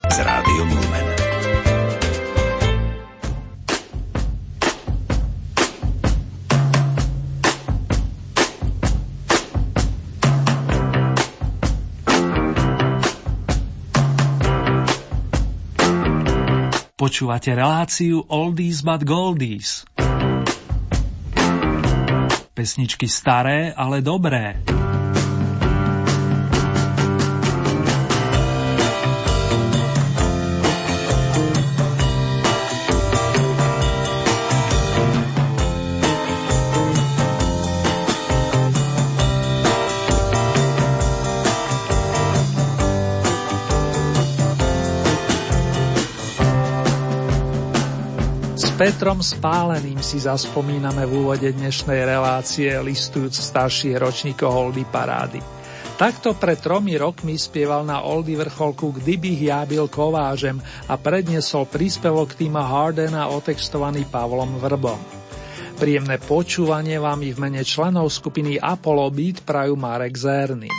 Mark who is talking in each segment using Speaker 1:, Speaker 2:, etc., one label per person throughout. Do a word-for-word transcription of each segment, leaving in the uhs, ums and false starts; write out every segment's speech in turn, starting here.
Speaker 1: s Rádiom Lumen.
Speaker 2: Počúvate reláciu Oldies but Goldies. Pesničky staré, ale dobré.
Speaker 3: Petrom Spáleným si zaspomíname v úvode dnešnej relácie, listujúc starších ročníkov Oldy parády. Takto pred tromi rokmi spieval na Oldy vrcholku Kdybych ja byl kovážem a predniesol príspevok týma Hardena otextovaný Pavlom Vrbom. Príjemné počúvanie vám i v mene členov skupiny Apollo Beat prajú Marek Zerný.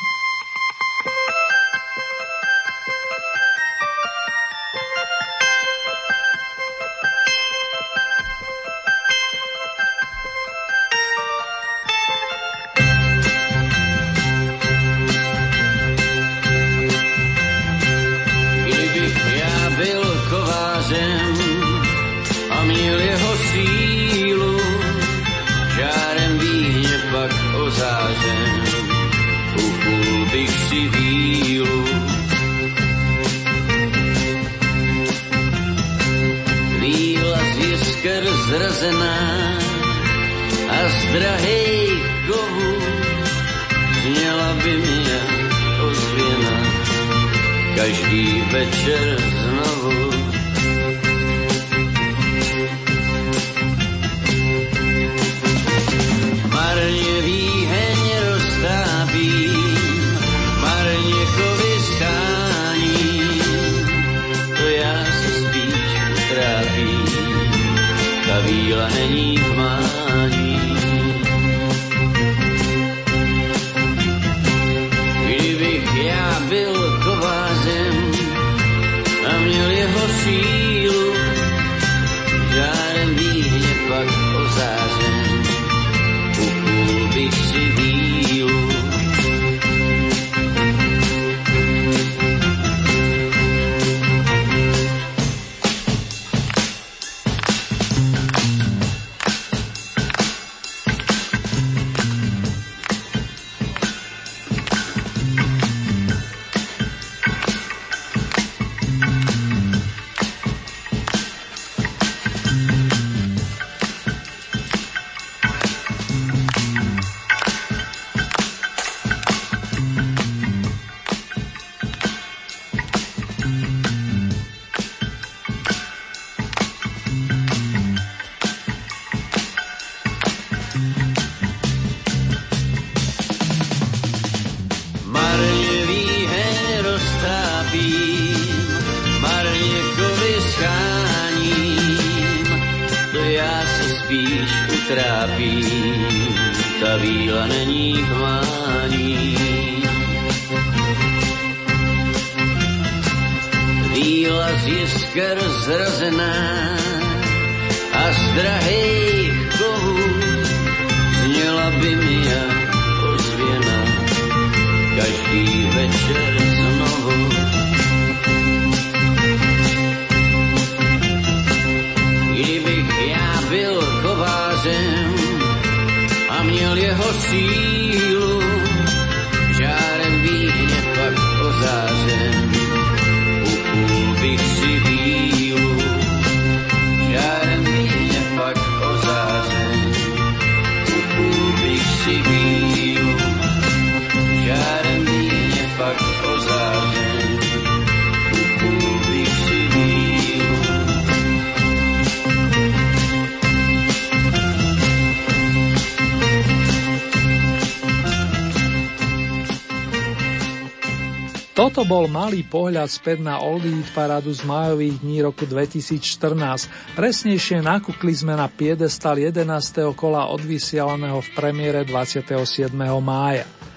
Speaker 3: Toto bol malý pohľad späť na Oldy parádu z májových dní roku dvetisícštrnásť. Presnejšie nakúkli sme na piedestal jedenásteho kola odvysielaného v premiére dvadsiateho siedmeho mája.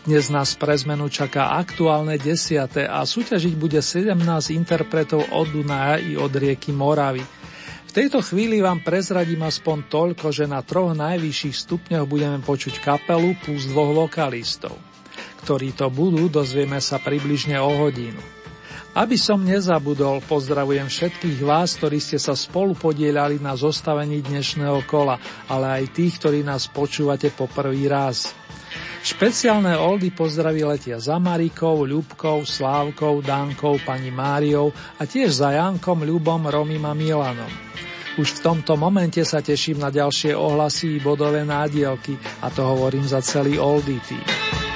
Speaker 3: Dnes nás pre zmenu čaká aktuálne desiate a súťažiť bude sedemnásť interpretov od Dunaja i od rieky Moravy. V tejto chvíli vám prezradím aspoň toľko, že na troch najvyšších stupňoch budeme počuť kapelu plus dvoch vokalistov. Ktorí to budú, dozvieme sa približne o hodinu. Aby som nezabudol, pozdravujem všetkých vás, ktorí ste sa spolu podieľali na zostavení dnešného kola, ale aj tých, ktorí nás počúvate po prvý raz. Špeciálne oldy pozdraví letia za Marikou, Ľubkou, Slávkou, Dankou, pani Máriou a tiež za Jankom, Ľubom, Romim a Milanom. Už v tomto momente sa teším na ďalšie ohlasy i bodové nádielky a to hovorím za celý oldy tým.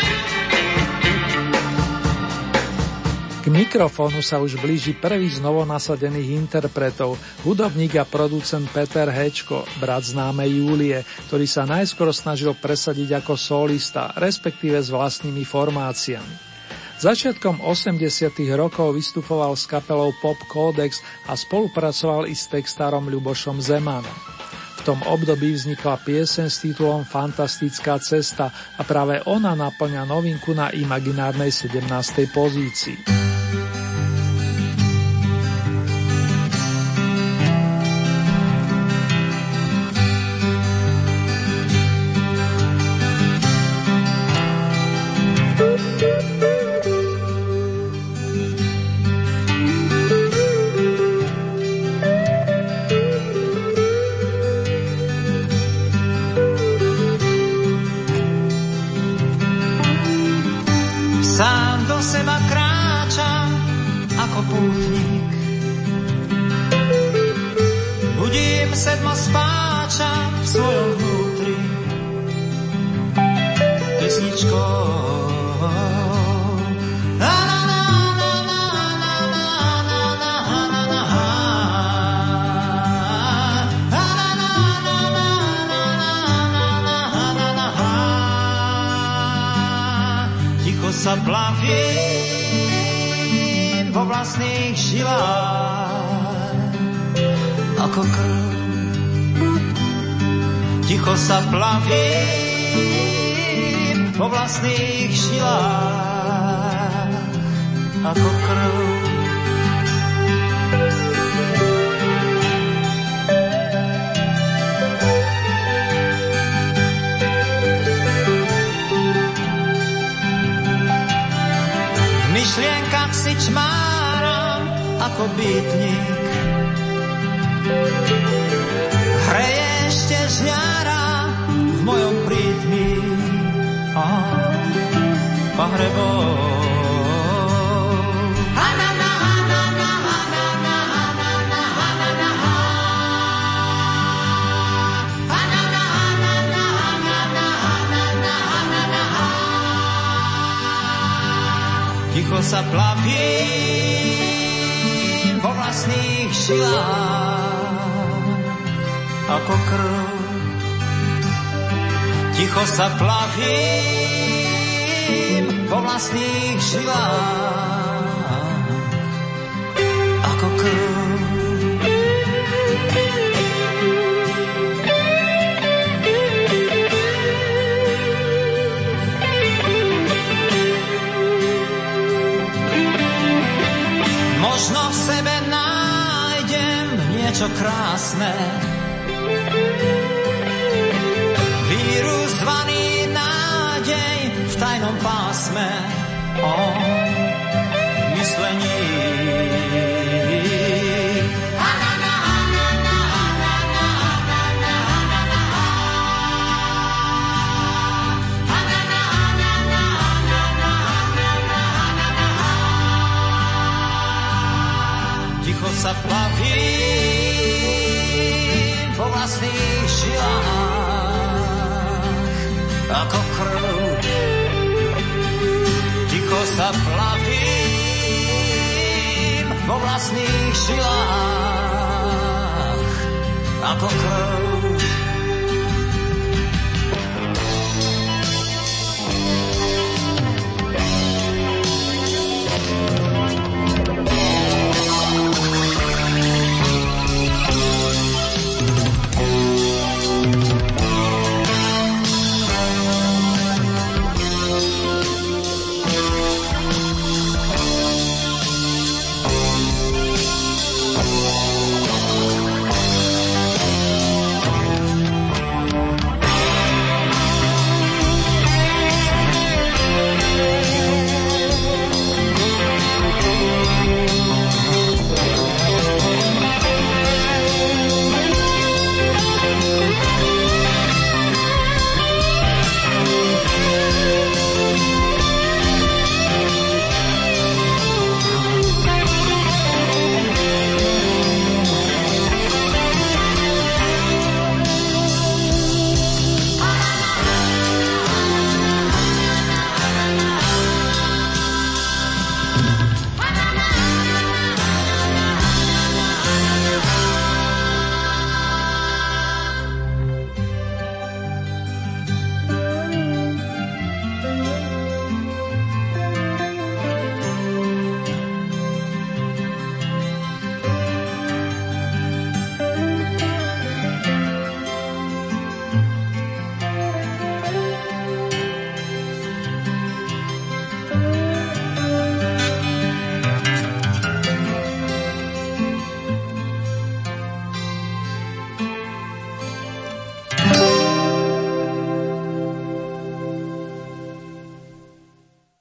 Speaker 3: K mikrofónu sa už blíži prvý z novonasadených interpretov, hudobník a producent Peter Hečko, brat známej Júlie, ktorý sa najskôr snažil presadiť ako solista, respektíve s vlastnými formáciami. Začiatkom osemdesiatych rokov vystupoval s kapelou Pop Codex a spolupracoval i s textárom Ľubošom Zemanom. V tom období vznikla pieseň s titulom Fantastická cesta a práve ona naplňa novinku na imaginárnej sedemnástej pozícii.
Speaker 1: Sa plavím po vlastných žilách ako krv. V myšlienkach si čmáram ako bytník, hreje ešte žňára v mojom prítmi a pahrebou. Ticho sa plavím vo vlastných žilách ako krv. Ticho sa plavím vo vlastných žilách ako krv. Možno v sebe nájdem niečo krásne, vírus zvaný nádej v tajnom pásme, o myslení. Ticho sa plavím po vlastných žilách ako krv. Ticho sa plavím vo vlastných žilách ako krv.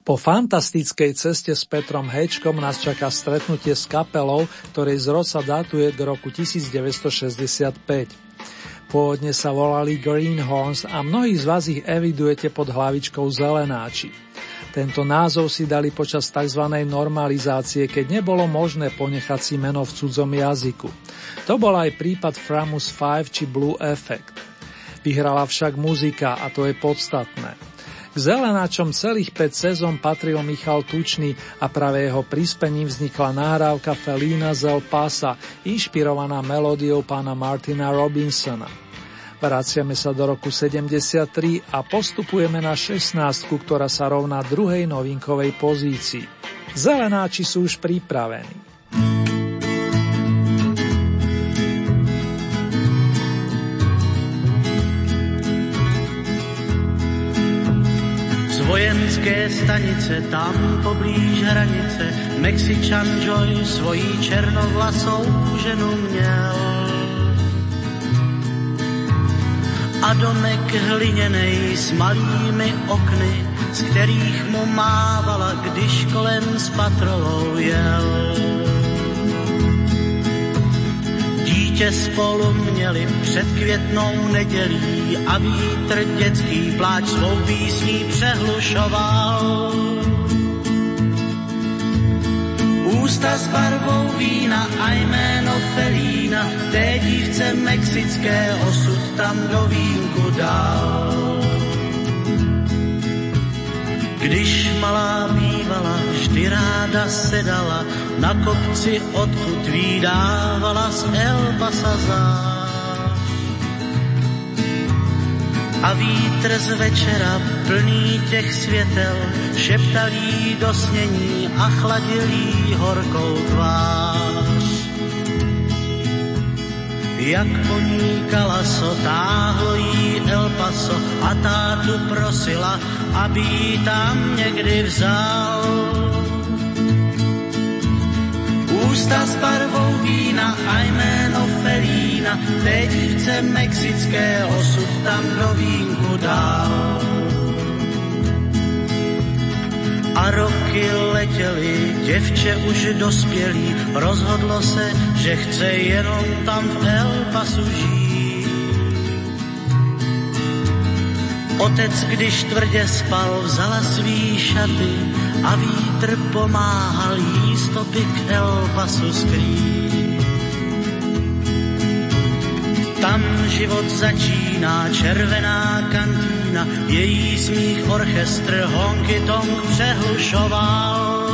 Speaker 3: Po fantastickej ceste s Petrom Hečkom nás čaká stretnutie s kapelou, ktorej zrod sa datuje do roku devätnásťstošesťdesiatpäť. Pôvodne sa volali Greenhorns a mnohí z vás ich evidujete pod hlavičkou Zelenáči. Tento názov si dali počas tzv. Normalizácie, keď nebolo možné ponechať si meno v cudzom jazyku. To bol aj prípad Framus päť či Blue Effect. Vyhrala však muzika a to je podstatné. K Zelenáčom celých päť sezón patril Michal Tučný a práve jeho prispením vznikla nahrávka Felína z El Pasa, inšpirovaná melódiou pána Martina Robinsona. Vraciame sa do roku sedemdesiattri a postupujeme na šestnástku, ktorá sa rovná druhej novinkovej pozícii. Zelenáči sú už pripravení.
Speaker 4: Vojenské stanice, tam poblíž hranice, Mexičan Joy svojí černovlasou ženu měl. A domek hliněnej s malými okny, z kterých mu mávala, když kolem s patrolou jel. Dítě spolu měli před květnou nedělí a vítr dětský pláč svou písní přehlušoval. Ústa s barvou vína a jméno Felína, té dívce mexické osud tam do vínku dal. Když malá bývala, vždy ráda sedala na kopci, odkud vídávala z El Pasa zář. A vítr z večera plný těch světel šeptal jí do snění a chladil jí horkou tvář. Jak po ní kalaso, táhlo jí El Paso a tátu prosila, aby jí tam někdy vzal. Ústa s barvou vína a jméno Felína, té dívce mexické osud tam do vínku dal. A roky letěly, děvče už dospělý, rozhodlo se, že chce jenom tam v El Pasu žít. Otec, když tvrdě spal, vzala svý šaty a vítr pomáhal jí stopy k El Pasu skrýt. Tam život začíná, červená kantína, její smích orchestr honky tonk přehlušoval.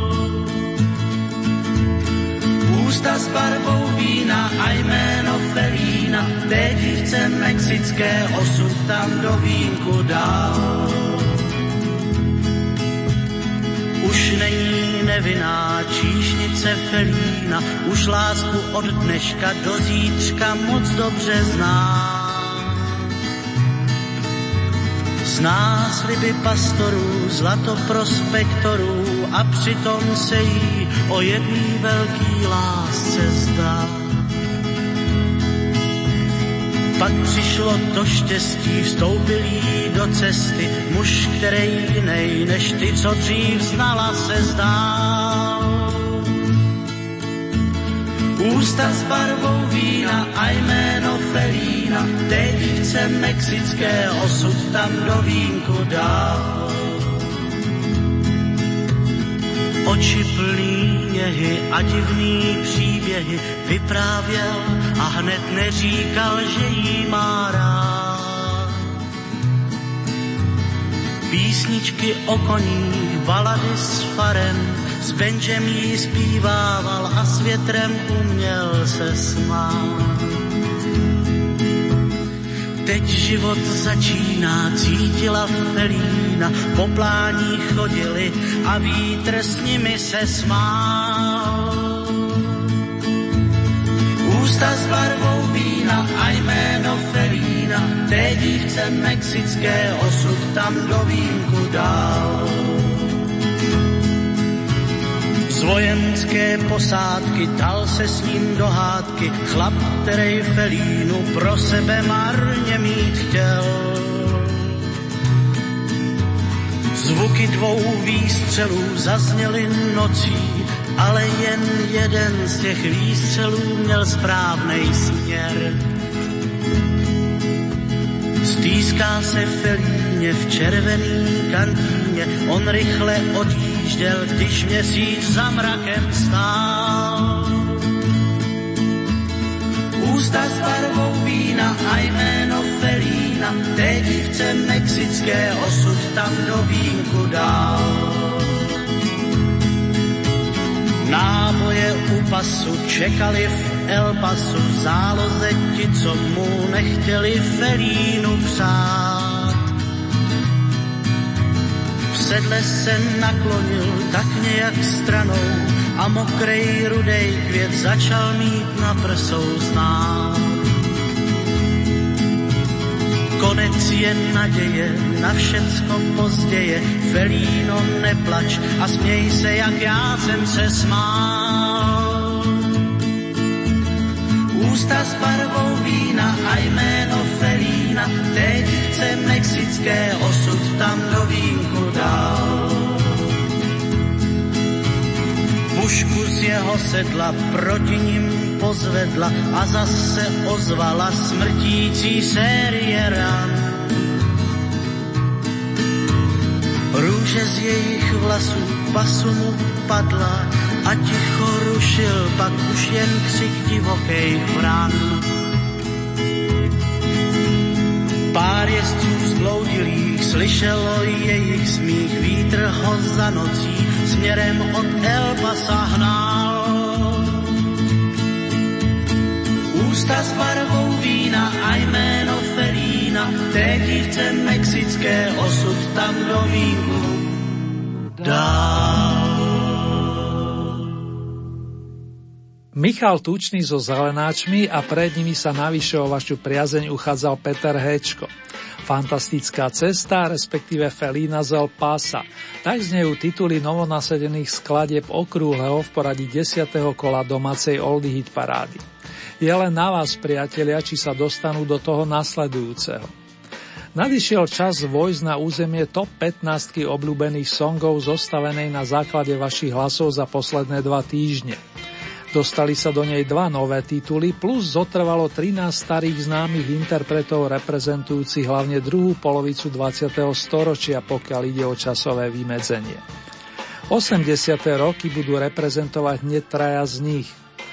Speaker 4: Ústa s barvou vína a jméno Felína, té dívce mexické osud tam do vínku dal. Už není nevinná číšnice Felína, už lásku od dneška do zítřka moc dobře zná. Zná sliby pastorů, zlato prospektorů a přitom se jí o jedný velký lásce zdá. Pak přišlo to štěstí, vstoupil jí do cesty muž, který jinej než ty, co dřív znala, se zdál. Ústa s barvou vína a jméno Felína, té dívce mexické osud tam do vínku dal. Oči plný něhy a divný příběhy vyprávěl a hned neříkal, že jí má rád. Písničky o koních, balady s farem, s Benjem jí zpívával a s větrem uměl se smát. Teď život začíná, cítila Felína, po pláních chodili a vítr s nimi se smál. Ústa s barvou vína a jméno Felína, té dívce mexické osud tam do vínku dal. Z vojenské posádky dal se s ním do hádky chlap, který Felínu pro sebe marně mít chtěl. Zvuky dvou výstřelů zazněly nocí, ale jen jeden z těch výstřelů měl správnej směr. Stýská se Felíně v červeným kantýně, on rychle odjížděl, když měsíc za mrakem stál. Ústa s barvou vína a jméno Felína, té dívce mexické osud tam do vínku dal. Náboje u pasu čekali v El Pasu, v záloze ti, co mu nechtěli Felínu přát. V sedle se naklonil tak nějak stranou a mokrej rudej květ začal mít na prsou znát. Konec je naděje, na všecko pozděje, Felíno neplač a směj se, jak já jsem se smál. Ústa s barvou vína a jméno Felína, té dívce mexické osud tam do vínku dal. Pušku z jeho sedla proti ním pozvedla a zase ozvala smrtící série ran. Růže z jejich vlasů pasu mu padla a ticho rušil pak už jen křik divokých vran. Pár jezdců zbloudilých slyšelo jejich smích, vítr ho za nocí směrem od El Pasa hnal. Ústa s barvou vína a jméno Felína, té dívce mexické osud tam do vínku dal.
Speaker 3: Michal Tučný so Zelenáčmi a pred nimi sa navyše o vašu priazeň uchádzal Peter Héčko. Fantastická cesta, respektíve Felína z El Pasa. Tak znejú tituly novonasadených skladieb okrúhleho v poradí desiateho kola domácej Oldie Hit parády. Je len na vás, priatelia, či sa dostanú do toho nasledujúceho. Nadišiel čas vojsť na územie top pätnásť obľúbených songov zostavenej na základe vašich hlasov za posledné dva týždne. Dostali sa do nej dva nové tituly, plus zotrvalo trinásť starých známych interpretov reprezentujúcich hlavne druhú polovicu dvadsiateho storočia, pokiaľ ide o časové vymedzenie. osemdesiate roky budú reprezentovať hneď traja z nich.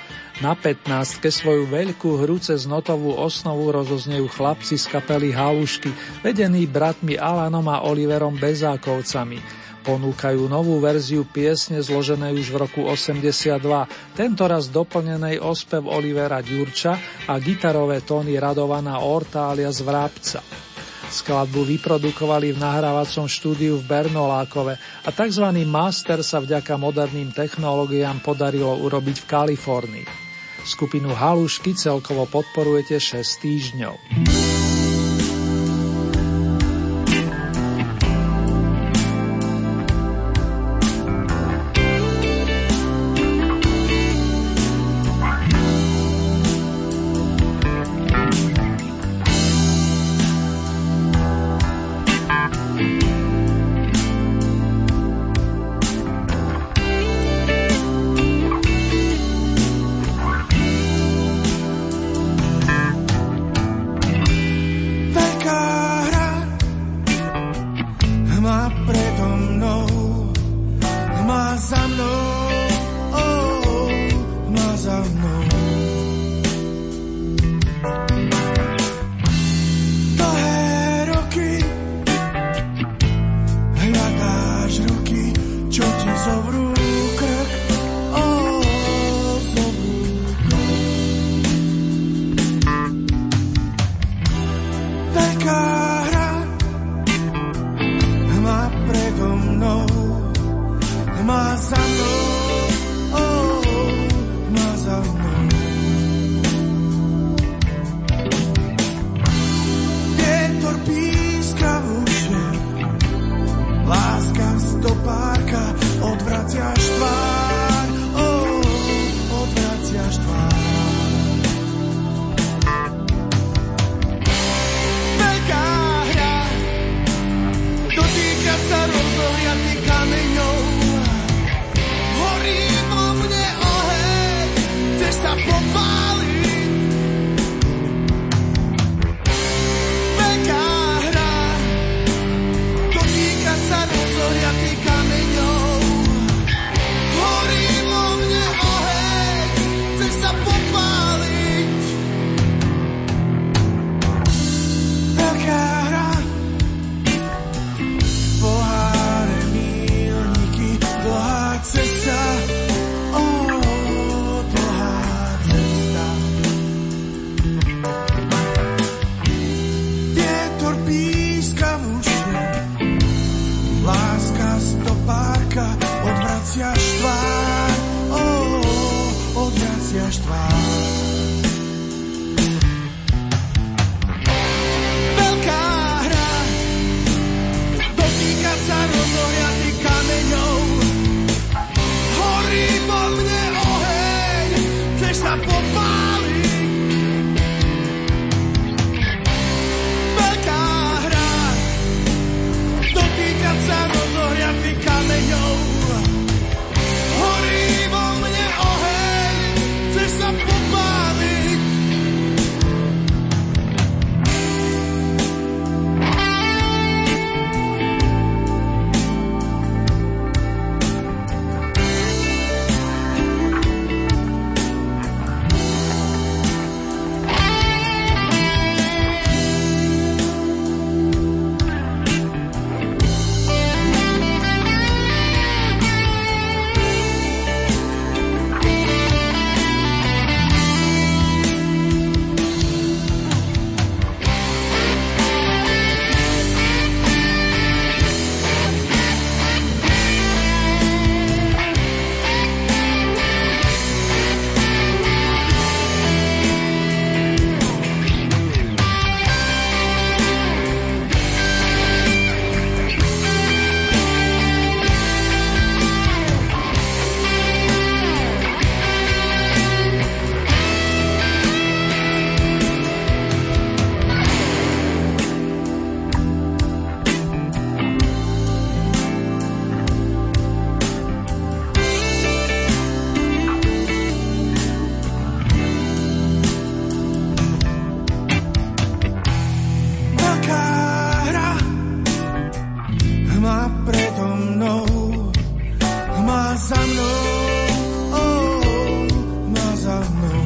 Speaker 3: Na pätnástke svoju veľkú hru cez notovú osnovu rozoznejú chlapci z kapely Halušky, vedení bratmi Alanom a Oliverom Bezákovcami. Ponúkajú novú verziu piesne zloženej už v roku osemdesiatdva, tentoraz doplnenej o spev Olivera Ďurča a gitarové tóny Radovana Orta alias Vrabca. Skladbu vyprodukovali v nahrávacom štúdiu v Bernolákove a tzv. master sa vďaka moderným technológiám podarilo urobiť v Kalifornii. Skupinu Halušky celkovo podporujete šesť týždňov.
Speaker 5: Dotýkať sa rozhodnú chceš sa popáliť. Veľká hra, dotýkať sa rozohriatých kameňov. Horí vo mne oheň, chceš sa popáliť. Veľká hra, poháre, míľniky, dlhá cesta. Ó, dlhá cesta. Vietor píska v uši, láska stopárka, odvraciaš tvár. Ó, odvraciaš tvár. Veľká hra, dotýkať sa rozohriatých kameňov. Horí vo mne oheň, chceš sa popáliť. Veľká hra, dotýkať sa rozohriatých kameňov. Horí vo mne oheň, chceš sa popáliť. Veľká hra, hmá predo mnou, hmá za mnou, ó, hmá za mnou.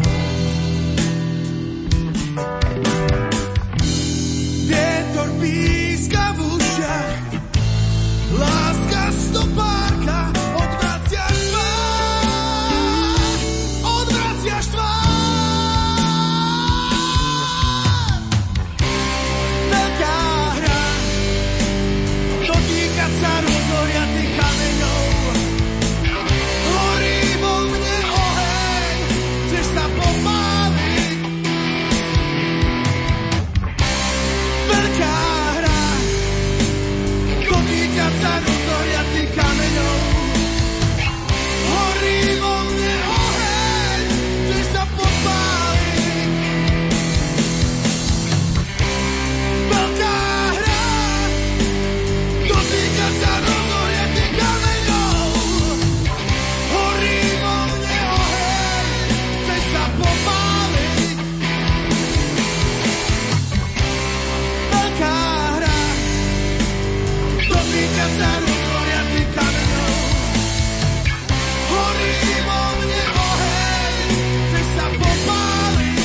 Speaker 5: Vietor píska v ušiach, láska stopárka, odvraciaš tvár, odvraciaš tvár. Veľká hra, dotýkať sa rozohriatých kameňov. Horí vo mne oheň, chceš sa popáliť. Veľká hra, dotýkať sa rozohriatých kameňov. Horí vo mne oheň, chceš sa popáliť. Veľká hra, dotýkať sa rozohriatých kameňov. Horí vo mne oheň, chceš sa popáliť. Veľká hra, dotýkať sa rozohriatých kameňov. Horí vo mne oheň, chceš sa popáliť.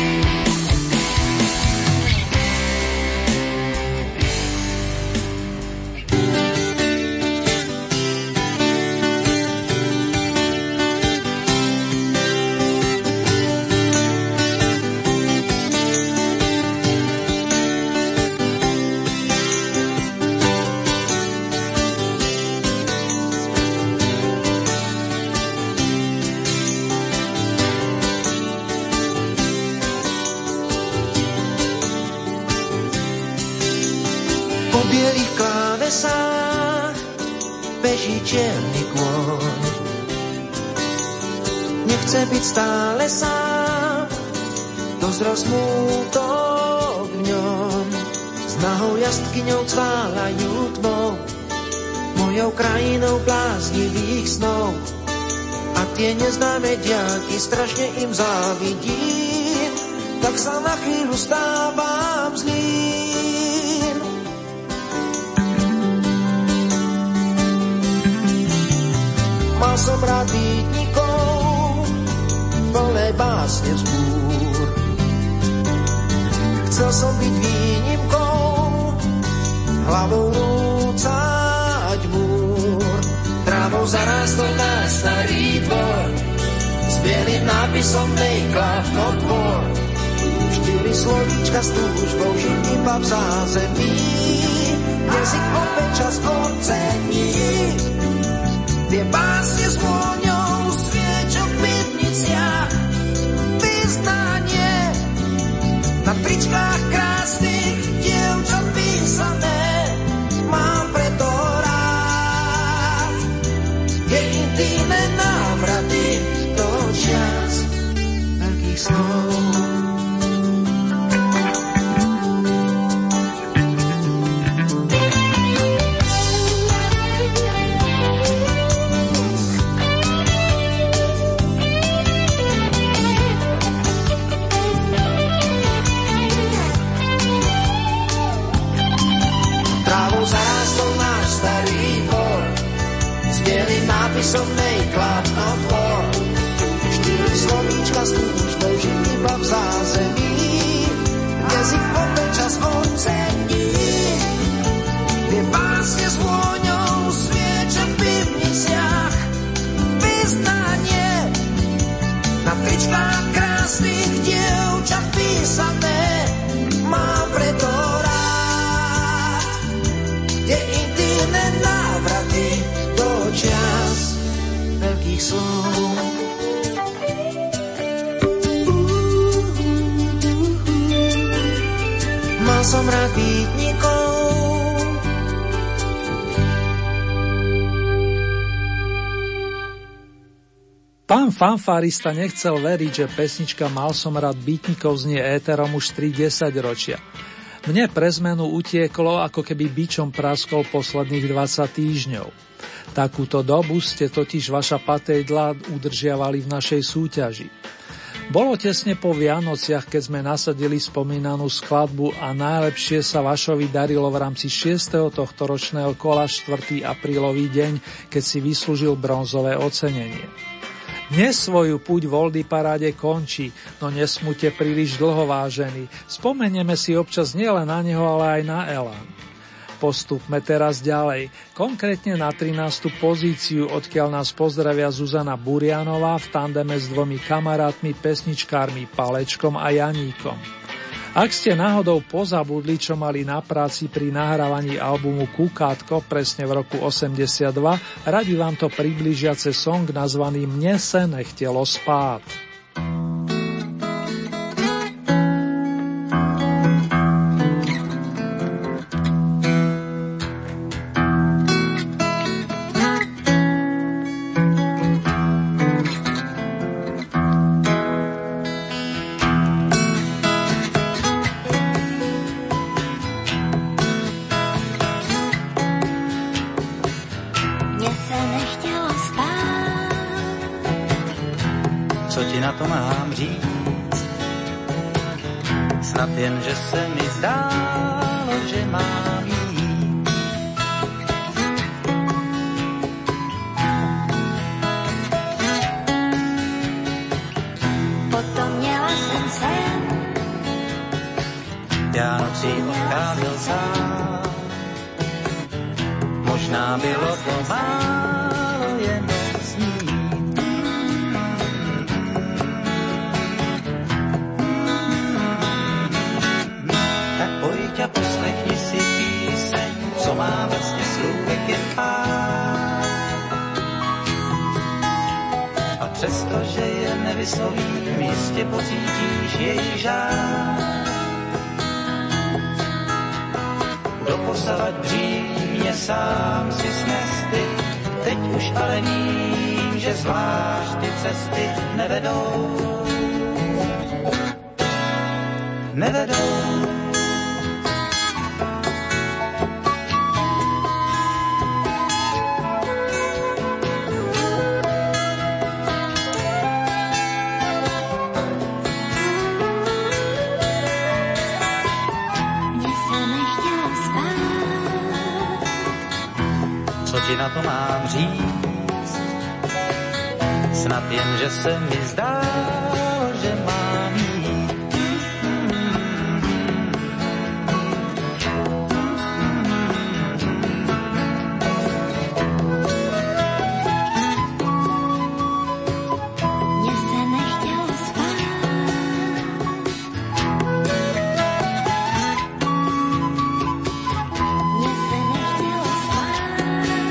Speaker 6: Po bielých klávesách beží čierny kôň. Nechce byť stále sám, dozrel smútok v ňom. S nahou jazdkyňou cválajú tmou, mojou krajinou bláznivých snov. a tie neznáme diaľky, strašne im závidím, tak sa na chvíľu stávam zlým. Mal som rád býtnikov, plné básne vzbúr. Chcel som byť výnimkou, hlavou rúcať múr. Trávou zarástol náš starý dvor, s bielým nápisom Make Love Not War. Štyri slovíčka s túžbou žiť iba v zázemí, jazyk opäť čas ocení. Tie básne s vôňou sviečok v pivniciach, vyznanie na tričkách krásnych dievčat písané, mám preto rád. Je intimné návraty do čias veľkých snov. Nápisom Make Love Not War. Štyri slovíčka s túžbou žiť iba v zázemí, jazyk opäť čas ocení. Tie básne s vôňou svieča v pivniciach, vyznanie na tričkách krásnych dievčat písané, mám preto rád. Tie intimné návraty do čias veľkých slov. Mal som rád býtnikov.
Speaker 3: Pán fanfárista nechcel veriť, že pesnička Mal som rád býtnikov znie éterom už tri desaťročia. Mne pre zmenu utieklo, ako keby bičom praskol posledných dvadsať týždňov. Takúto dobu ste totiž vaša patédla udržiavali v našej súťaži. Bolo tesne po Vianociach, keď sme nasadili spomínanú skladbu a najlepšie sa Vašovi darilo v rámci šiesteho tohtoročného kola štvrtého aprílový deň, keď si vyslúžil bronzové ocenenie. Dnes svoju púť v Oldie paráde končí, no nesmúte príliš dlho, vážení. Spomenieme si občas nielen na neho, ale aj na Elán. Postupme teraz ďalej, konkrétne na trinástu pozíciu, odkiaľ nás pozdravia Zuzana Burianová v tandeme s dvomi kamarátmi, pesničkármi Palečkom a Janíkom. Ak ste náhodou pozabudli, čo mali na práci pri nahrávaní albumu Kukátko presne v roku osemdesiatdva, radi vám to približiace song nazvaný Mne se nechtělo spát.
Speaker 4: Jen, že se mi zdálo, že mám jít.
Speaker 7: Potom měla jsem sen.
Speaker 4: Já nocí odcházel sám. Možná bylo to málo jen snít. A poslechni si píseň, co má vlastně slůvek jen pár. A přesto, že je nevyslovím, jistě pocítíš její žár. Doposavad břímě sám si snesty, teď už ale vím, že zvlášť ty cesty nevedou. Nevedou.
Speaker 1: ti na to mám říct? Snad jen, že se mi zdá, že mám jít.
Speaker 7: Mně se nechtělo spát. Mně se nechtělo spát.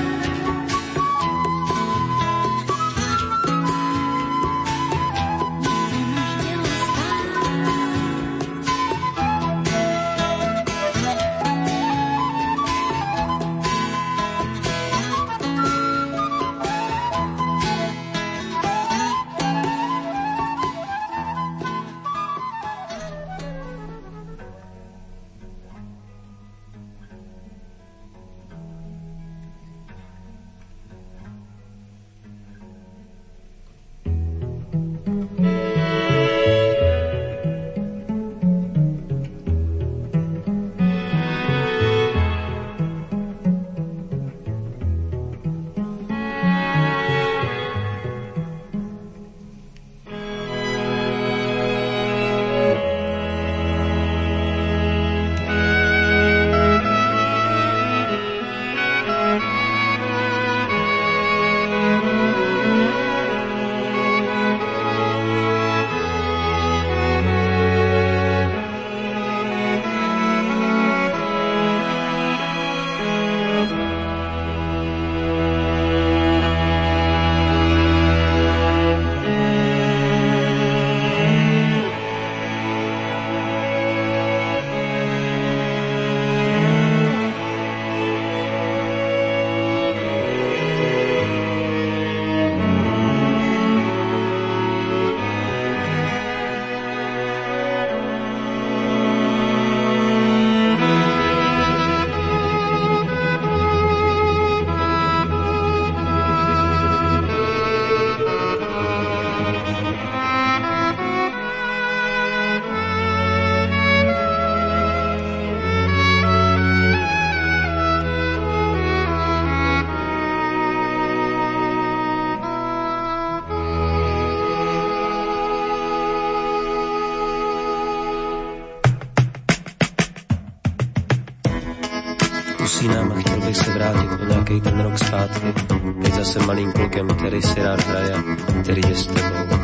Speaker 8: Usínám a chtěl bych se vrátit o nějaký ten rok zpátky. Teď zase malým klukem, který si rád hraje, který je s tebou.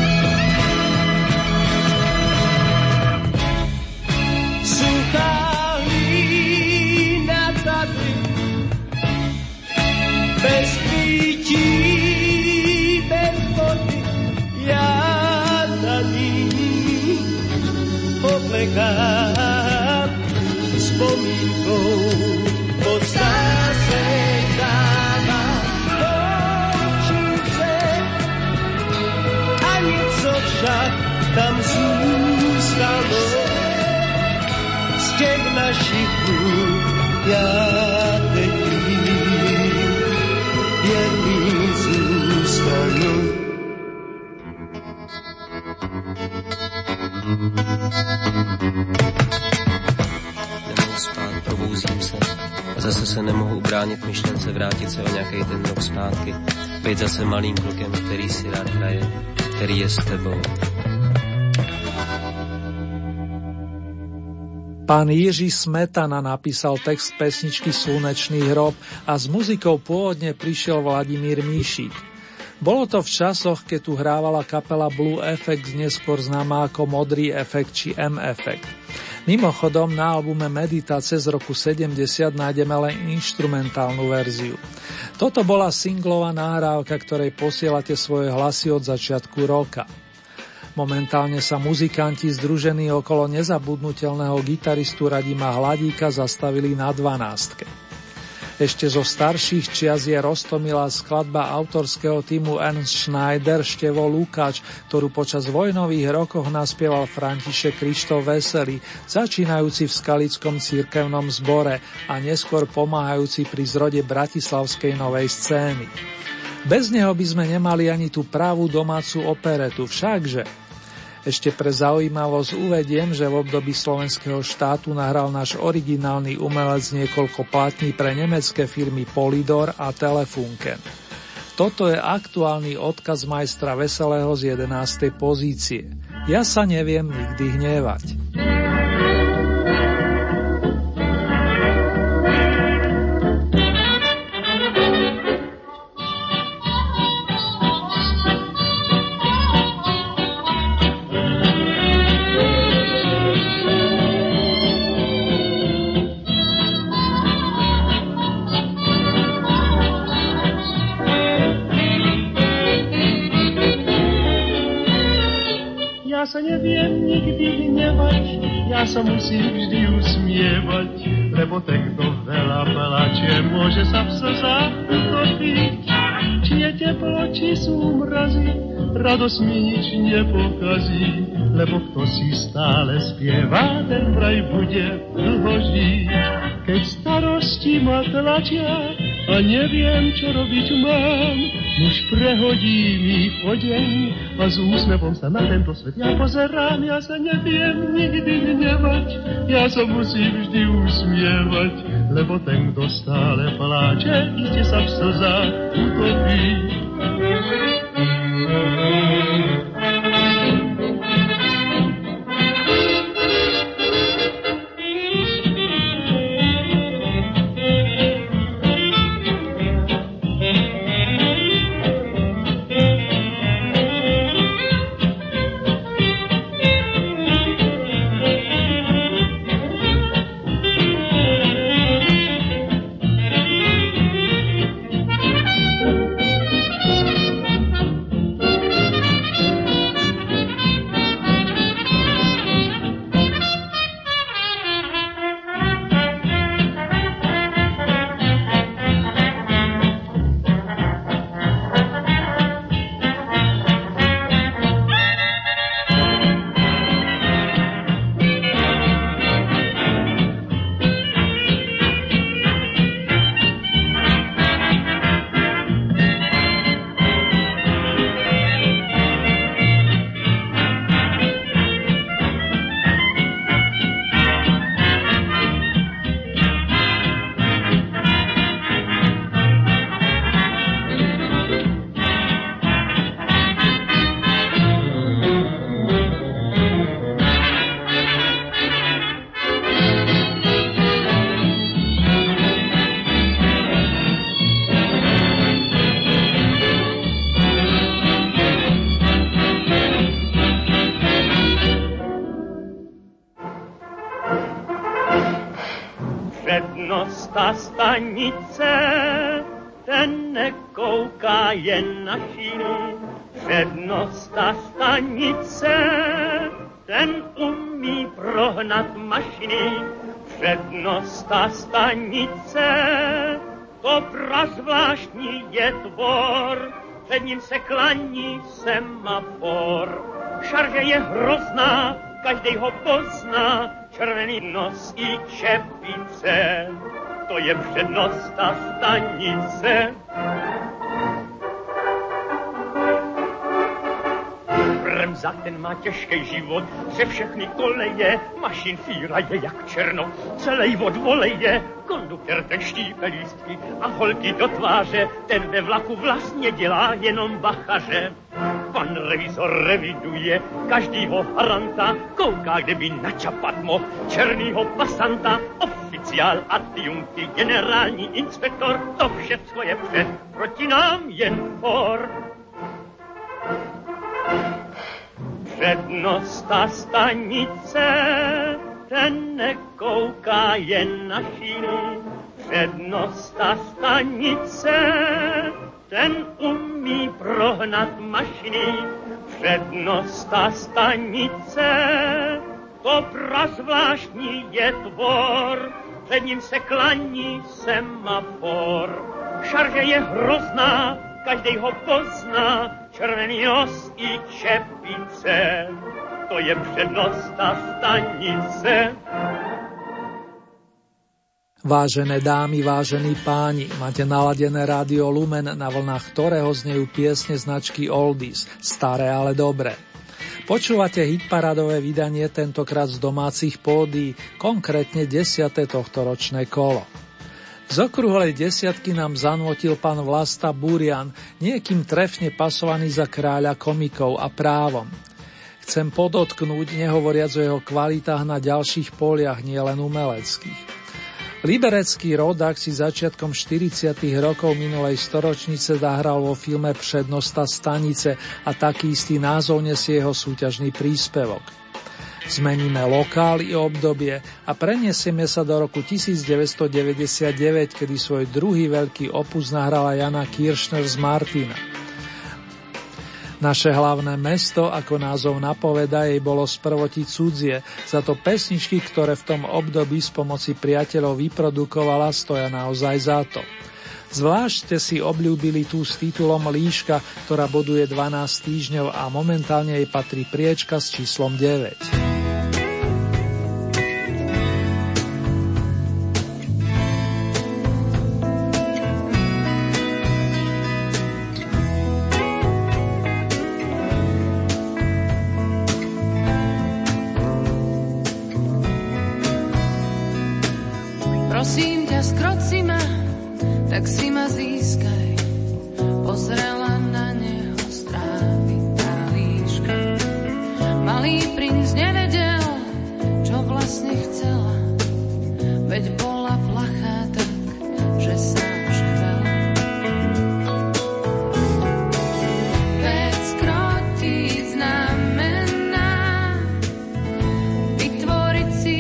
Speaker 9: Suchá však tam zůstalo z těch našich dnů. Já teď vím, jedný zůstanu.
Speaker 8: Nemohu spát, probouzím se a zase se nemohu ubránit myšlence vrátit se o nějaký ten rok zpátky. Být zase malým klukem, který si rád hraje, který je s tebou.
Speaker 3: Pán Jiří Smetana napísal text pesničky Slnečný hrob a s muzikou pôvodne prišiel Vladimír Míšik. Bolo to v časoch, keď tu hrávala kapela Blue Effect, neskôr známa ako Modrý efekt či M-efekt. Mimochodom, na albume Meditácie z roku sedemdesiat nájdeme len inštrumentálnu verziu. Toto bola singlová nahrávka, ktorej posielate svoje hlasy od začiatku roka. Momentálne sa muzikanti združení okolo nezabudnutelného gitaristu Radima Hladíka zastavili na dvanástke. Ešte zo starších čias je roztomilá skladba autorského týmu Ernst Schneider Števo Lukáč, ktorú počas vojnových rokoch naspieval František Krištof Veselý, začínajúci v skalickom cirkevnom zbore a neskôr pomáhajúci pri zrode bratislavskej novej scény. Bez neho by sme nemali ani tú pravú domácu operetu, všakže. Ešte pre zaujímavosť uvediem, že v období slovenského štátu nahral náš originálny umelec niekoľko platní pre nemecké firmy Polydor a Telefunken. Toto je aktuálny odkaz majstra Veselého z jedenástej pozície. Ja sa neviem nikdy hnevať.
Speaker 9: Ja sa neviem nikdy hnevať, ja sa musím vždy usmievať, lebo ten, kto veľa plače, môže sa v slzách utopiť. Či je teplo, či sú mrazy, radosť mi nič nepokazí, lebo kto si stále spieva, ten vraj bude dlho žiť. Keď starosti ma tlačia a neviem, čo robiť mám, už prehodí mi odeň a s úsmevom sa na tento svet ja pozerám. Ja sa neviem nikdy hnevať, ja sa musím vždy usmievať, lebo ten, kto stále pláče, iste sa v slzách utopí.
Speaker 10: ta stanice, ten nekouká jen na šíny. Přednost ta stanice, ten umí prohnat mašiny. Přednost ta stanice, to prazvláštní je tvor, před ním se klaní semafor. Šarže je hrozná, každej ho pozná, červený nos i čepice, to je přednost ta stanice. Bremza, ten má těžký život, pře všechny koleje, mašin fíra je jak černo, celej od voleje, konduktor ten štípe lístky a holky do tváře, ten ve vlaku vlastně dělá jenom bachaře. Pan revizor reviduje každýho haranta, kouká, kde by načapat mohl černýho pasanta. Oficiál, adjunkty, generální inspektor, to všecko je před, proti nám jen for. Přednost ta stanice, ten nekouká jen na šíny. Přednost ta stanice, ten umí prohnat mašiny. Přednost ta stanice, to prazvláštní je tvor, před ním se klaní semafor. Šarže je hrozná, každej ho pozná, červený nos i čepice, to je přednost ta stanice.
Speaker 3: Vážené dámy, vážení páni, máte naladené rádio Lumen, na vlnách ktorého znejú piesne značky Oldies, staré, ale dobré. Počúvate hitparádové vydanie, tentokrát z domácich pódií, konkrétne desiate tohtoročné kolo. Z okrúhlej desiatky nám zanvotil pán Vlasta Burian, niekým trefne pasovaný za kráľa komikov a právom. Chcem podotknúť, nehovoriac o jeho kvalitách na ďalších poliach, nielen umeleckých. Liberecký rodák si začiatkom štyridsiatych rokov minulej storočnice zahral vo filme Přednosta stanice a taký istý názov nesie jeho súťažný príspevok. Zmeníme lokál i obdobie a preniesieme sa do roku devätnásťstodeväťdesiatdeväť, kedy svoj druhý veľký opus nahrala Jana Kiršner z Martina. Naše hlavné mesto, ako názov napoveda, jej bolo sprvoti cudzie, za to pesničky, ktoré v tom období s pomoci priateľov vyprodukovala, stoja naozaj za to. Zvlášť ste si obľúbili tú s titulom Líška, ktorá boduje dvanásť týždňov a momentálne jej patrí priečka s číslom deväť.
Speaker 11: Prosím ťa, skroci ma, tak si ma získaj. Pozrela na neho strávy tá líška. Malý princ nevedel, čo vlastne chcela, veď bola plachá tak, že sa až chvela. Veď skrotiť znamená vytvoriť si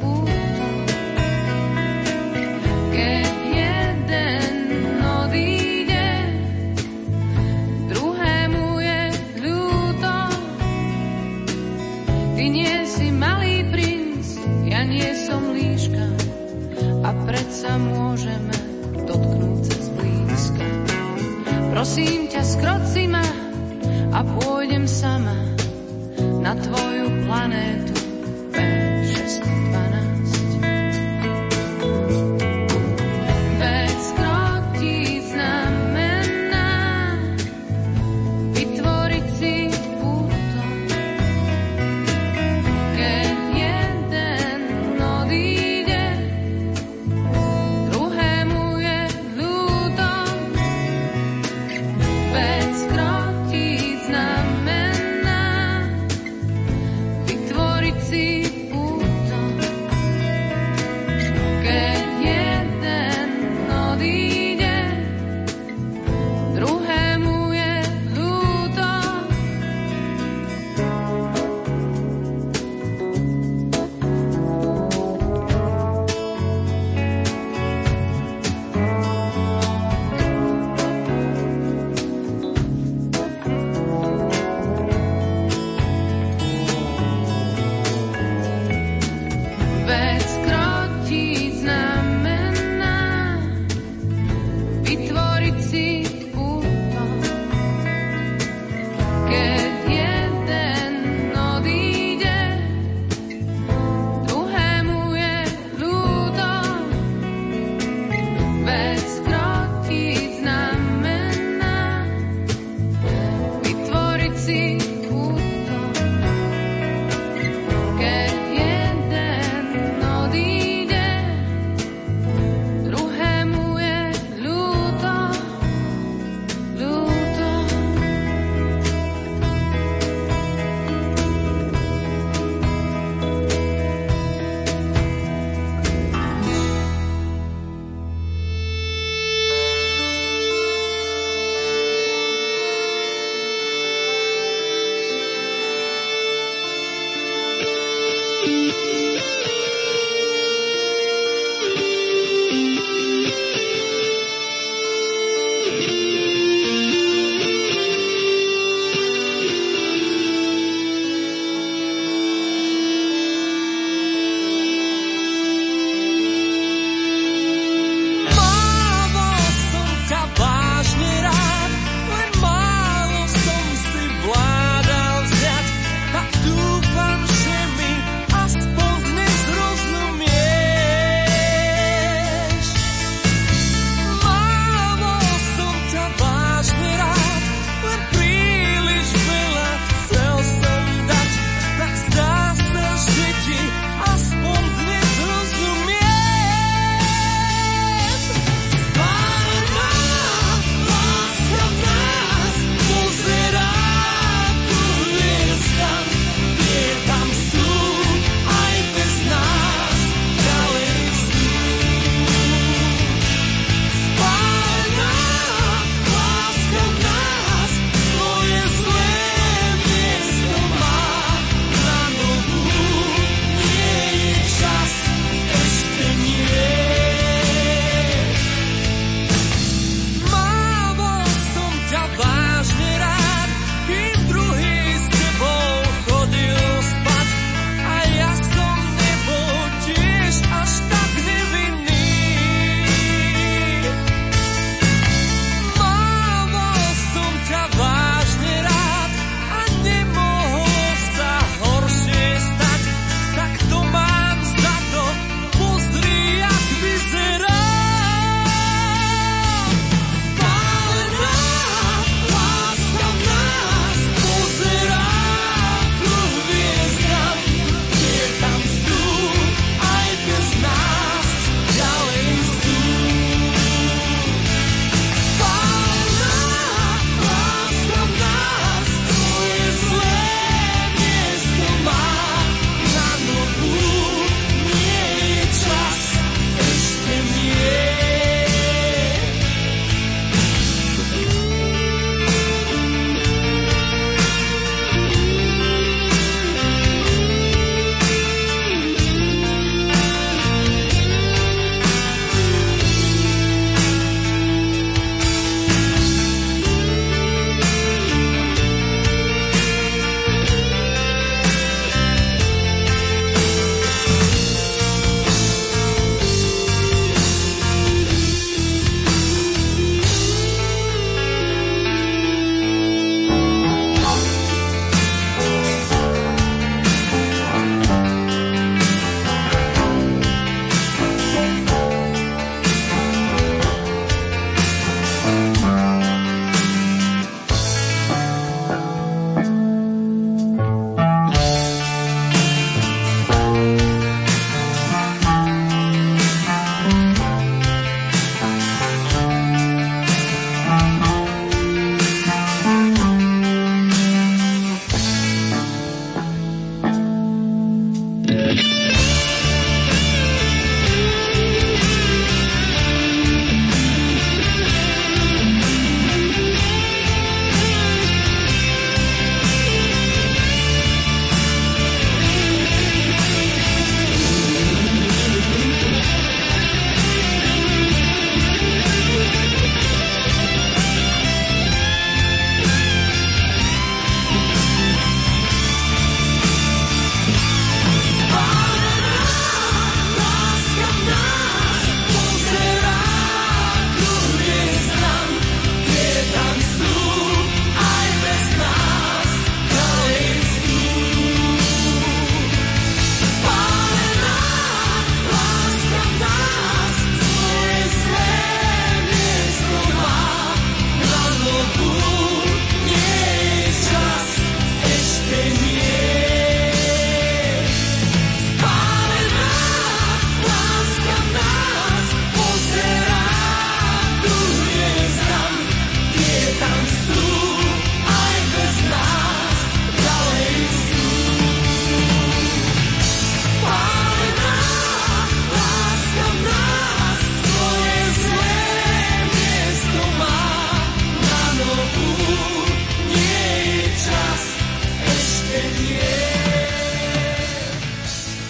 Speaker 11: sa môžeme dotknúť sa zblízka. Prosím ťa, skroci ma a pôjdem sama na tvoju planétu P šesťsto dvanásť. Veď skrotiť znamená vytvoriť si puto, keď jeden odíde, znamená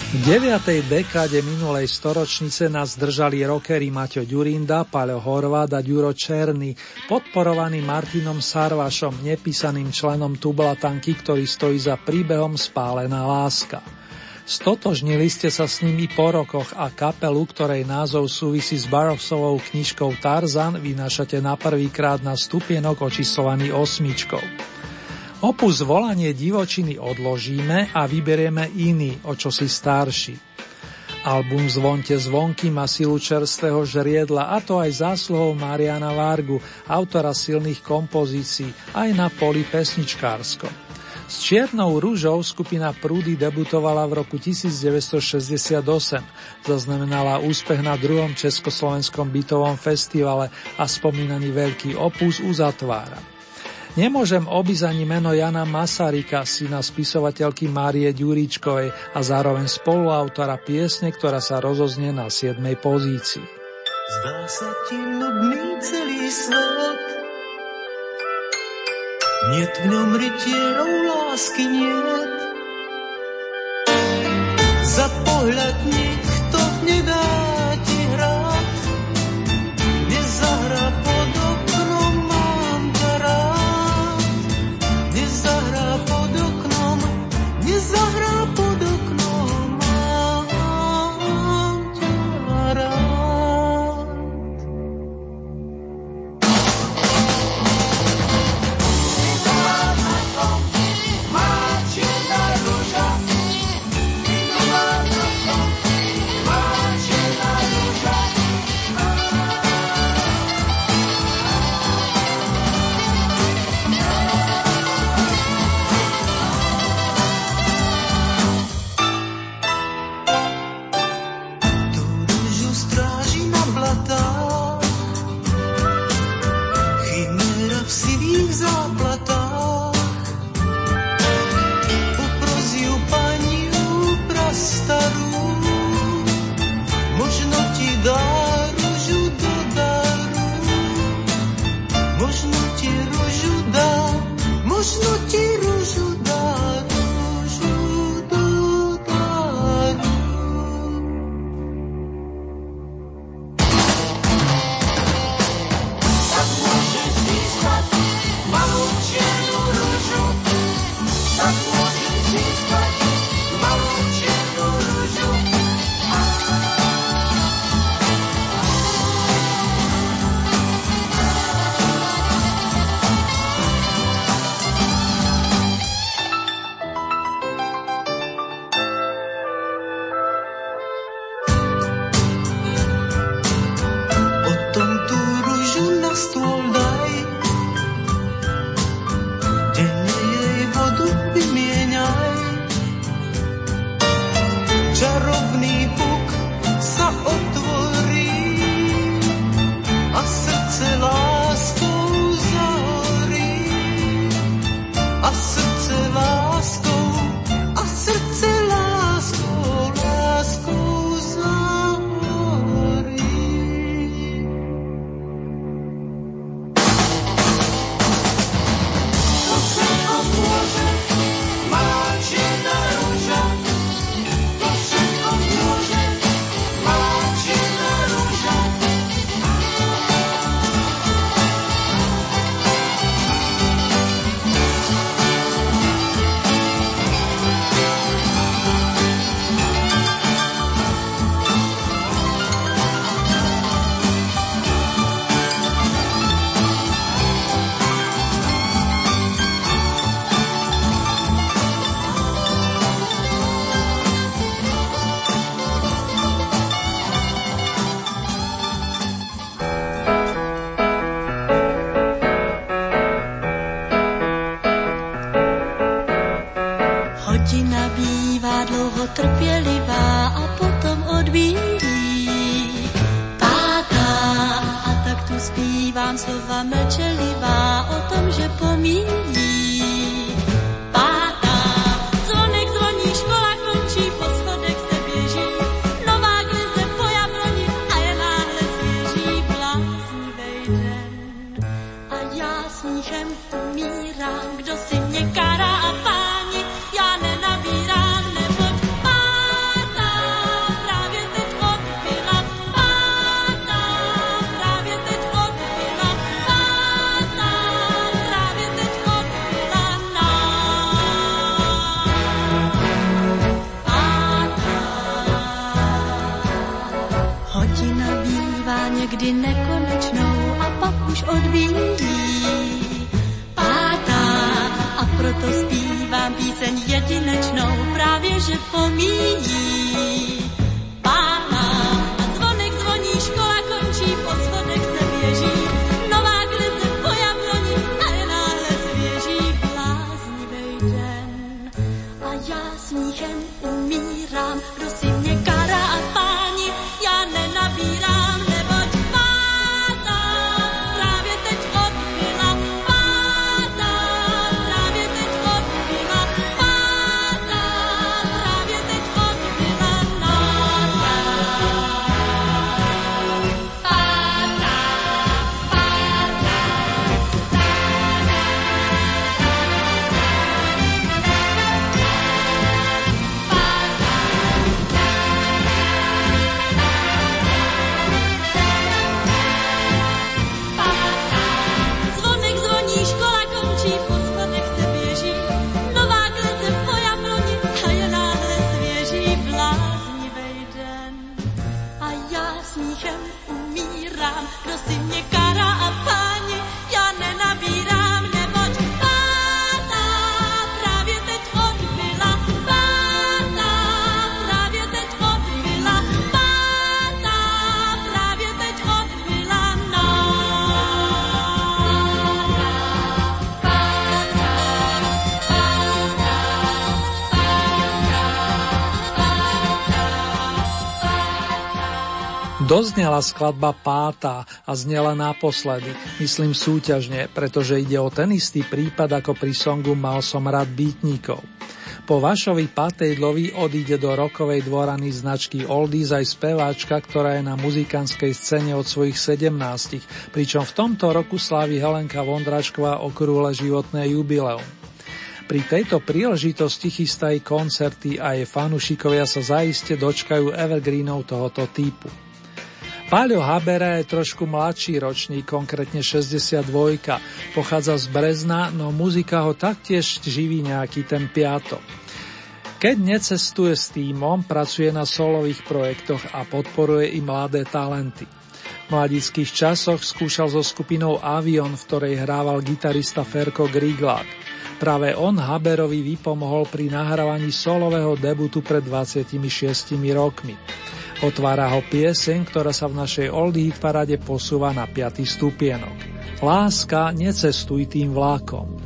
Speaker 3: V deviatej dekáde minulej storočnice nás držali rockery Maťo Ďurinda, Paľo Horváth a Ďuro Černý, podporovaný Martinom Sarvašom, nepísaným členom Tublatanky, ktorý stojí za príbehom Spálená láska. Stotožnili ste sa s nimi po rokoch a kapelu, ktorej názov súvisí s Barroksovou knižkou Tarzan, vynášate na prvýkrát na stupienok očíslovaný osmičkou. Opus Volanie divočiny odložíme a vyberieme iný, o čosi starší. Album Zvonte zvonky má silu čerstvého žriedla, a to aj zásluhou Mariana Vargu, autora silných kompozícií, aj na poli pesničkárskom. S Čiernou ružou skupina Prúdy debutovala v roku devätnásťstošesťdesiatosem, zaznamenala úspech na druhom československom bytovom festivale a spomínaný veľký opus uzatvára. Nemôžem obísť ani meno Jana Masaryka, syna spisovateľky Márie Ďuričkovej a zároveň spoluautora piesne, ktorá sa rozoznie na siedmej pozícii.
Speaker 6: Zdá sa ti nudný celý svet, niet v ňom rytierov lásky niet. Za pohľad nikto nedá ti hrať, nezahrá pod oknom, mám ťa rád. Nezahrá pod oknom, nezahrá pod oknom, mám ťa rád.
Speaker 12: Slova mlčelivá o tom, že pomíjí. Pátá, zvonek zvoní, škola končí, po schodech se běží, nová glize po jabloni a je náhle svěží bláznivej den. A já smíchem umírám, kdo si mě kará a páni, já nenabírám, neboť pátá. kdy nekonečnou a pak už odbíjí. Pátá a proto zpívám píseň jedinečnou, právě že pomíjí. Pátá a zvonek zvoní, škola končí, po schodech se běží. Nová glize po jabloni a je náhle svěží bláznivej den. A já smíchem umírám, kdo si mě kará a páni, já nenabírám, neboť pátá právě teď odbyla, pátá právě teď odbyla, pátá právě teď odbyla náda. Pátá, pátá, zvonek zvoní, škola končí, po schodech se běží. Nová glize po jabloni a je náhle svěží bláznivej den. A já smíchem umírám, kdo si mě kará a páni, já nenabírám, neboť pátá právě teď odbyla, pátá právě teď odbyla, pátá právě teď odbyla
Speaker 3: Doznela skladba Pátá a znela naposledy, myslím súťažne, pretože ide o ten istý prípad ako pri songu Mal som rád býtnikov. Po Vašovi Patejdlovi odíde do rockovej dvorany značky Oldies aj speváčka, ktorá je na muzikantskej scéne od svojich sedemnástich, pričom v tomto roku slávi Helenka Vondračková okrúhle životné jubileum. Pri tejto príležitosti chystají koncerty a jej fanúšikovia sa zaiste dočkajú evergreenov tohoto typu. Páľo Habera je trošku mladší ročník, konkrétne šesťdesiatdva, pochádza z Brezna, no muzika ho taktiež živí nejaký ten piatok. Keď necestuje s tímom, pracuje na solových projektoch a podporuje i mladé talenty. V mladických časoch skúšal so skupinou Avion, v ktorej hrával gitarista Ferko Griglák. Práve on Haberovi vypomohol pri nahrávaní solového debutu pred dvadsiatimi šiestimi rokmi. Otvára ho pieseň, ktorá sa v našej Oldie Hit paráde posúva na piaty stupienok. Láska, necestuj tým vlákom.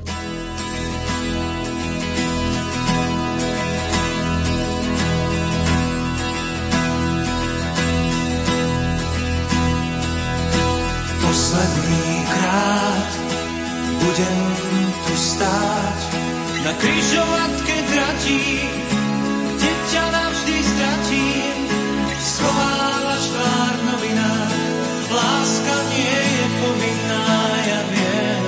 Speaker 6: Posledný krát budem tu stáť na križovatke tratí, kde ťa navždy stratím. Schovávaš tvár v novinách, láska nie je povinná, ja viem.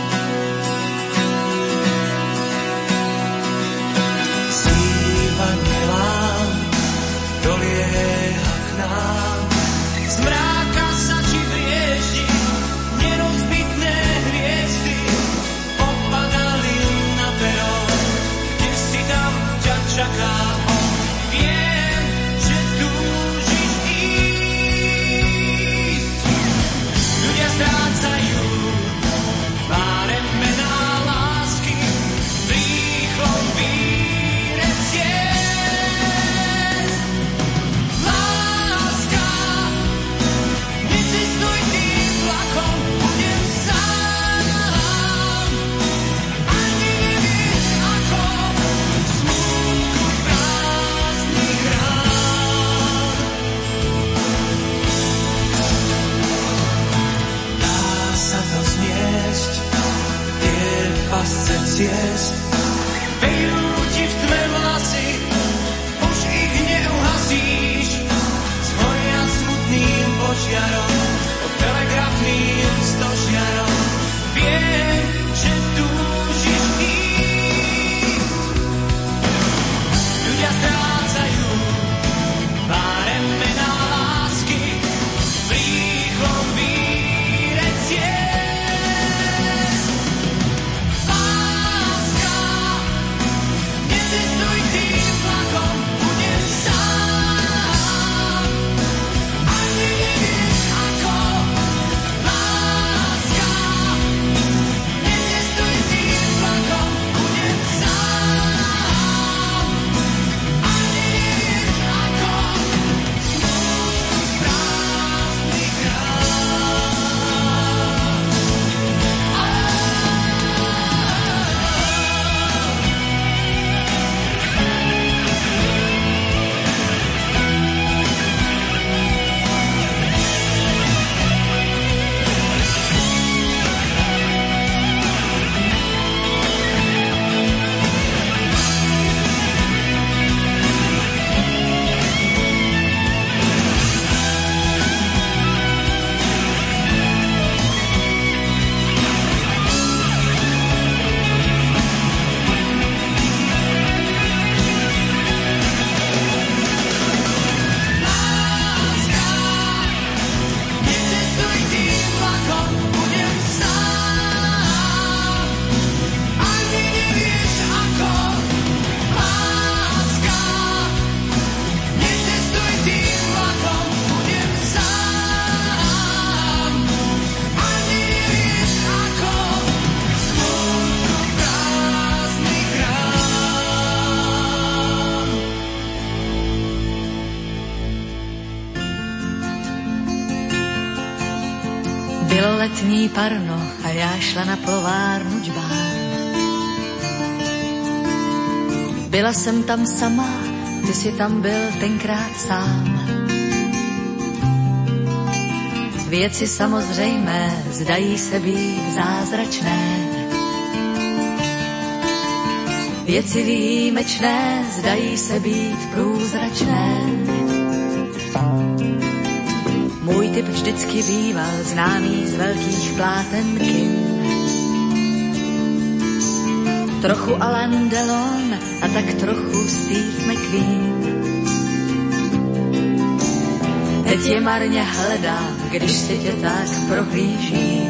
Speaker 6: Zývanie lám dolieha k nám, z mráka sa ti vrieždi, nerozbitné hviezdy opadali na pero, kde si tam ťa čaká on. Viem, že túžiš ísť. Ľudia strácajú pár mená lásky v rýchlom víre ciest. Láska, necestuj tým vlakom, budem sám. Ani nevieš ako, v smútku prázdnych rán. Dá sa to zniesť, tie pasce ciest, vejú ti v tme vlasy, už ich neuhasíš. Zhoria smutným požiarom, pod telegrafným stožiarom. Viem, že túžiš ísť. Ľudia strácajú pár mená lásky v rýchlom víre ciest. Láska,
Speaker 13: letní parno a já šla na plovárnu džbán. Byla jsem tam sama, ty jsi tam byl tenkrát sám. Věci samozřejmé zdají se být zázračné. Věci výjimečné zdají se být průzračné. Můj typ vždycky býval známý z velkých pláten kin. Trochu Alain Delon a tak trochu Steve McQueen. Teď je marně hledám, když si tě tak prohlížím.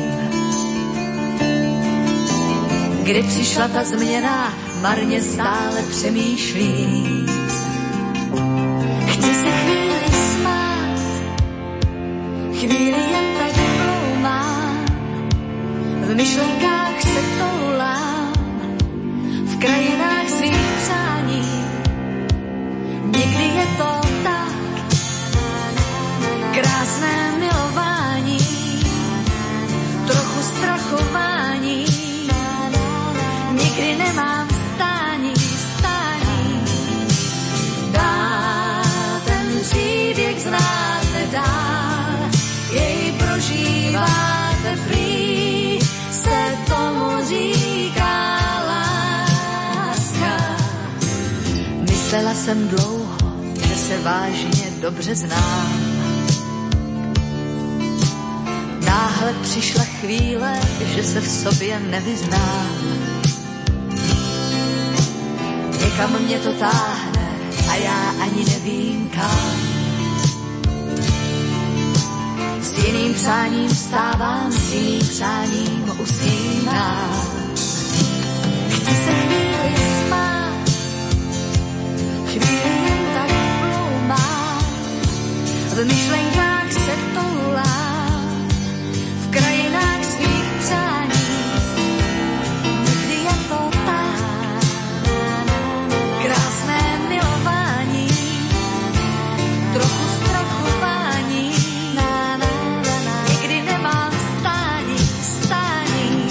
Speaker 13: Kdy přišla ta změna, marně stále přemýšlím. Chci se chvíli smát, chvíli jen tak bloumám, v myšlenkách se toulám, v krajinách svých přání. Někdy je to tak, krásné milování, trochu strachování. Nikdy nemám stání, stání. Dál ten příběh znáte dál, jej prožíváte prý, se tomu říká láska. Myslela jsem dlouho, že se vážně dobře znám. Náhle přišla chvíle, že se v sobě nevyznám. Někam mě to táhne a já ani nevím kam. S jiným přáním vstávám, s jiným přáním usínám. Chci se chvíli smát, chvíli jen tak bloumám, v myšlenkách se toulám, v krajinách svých přání. Někdy je to tak, krásné milování, trochu strachování. Nikdy nemám stání, stání.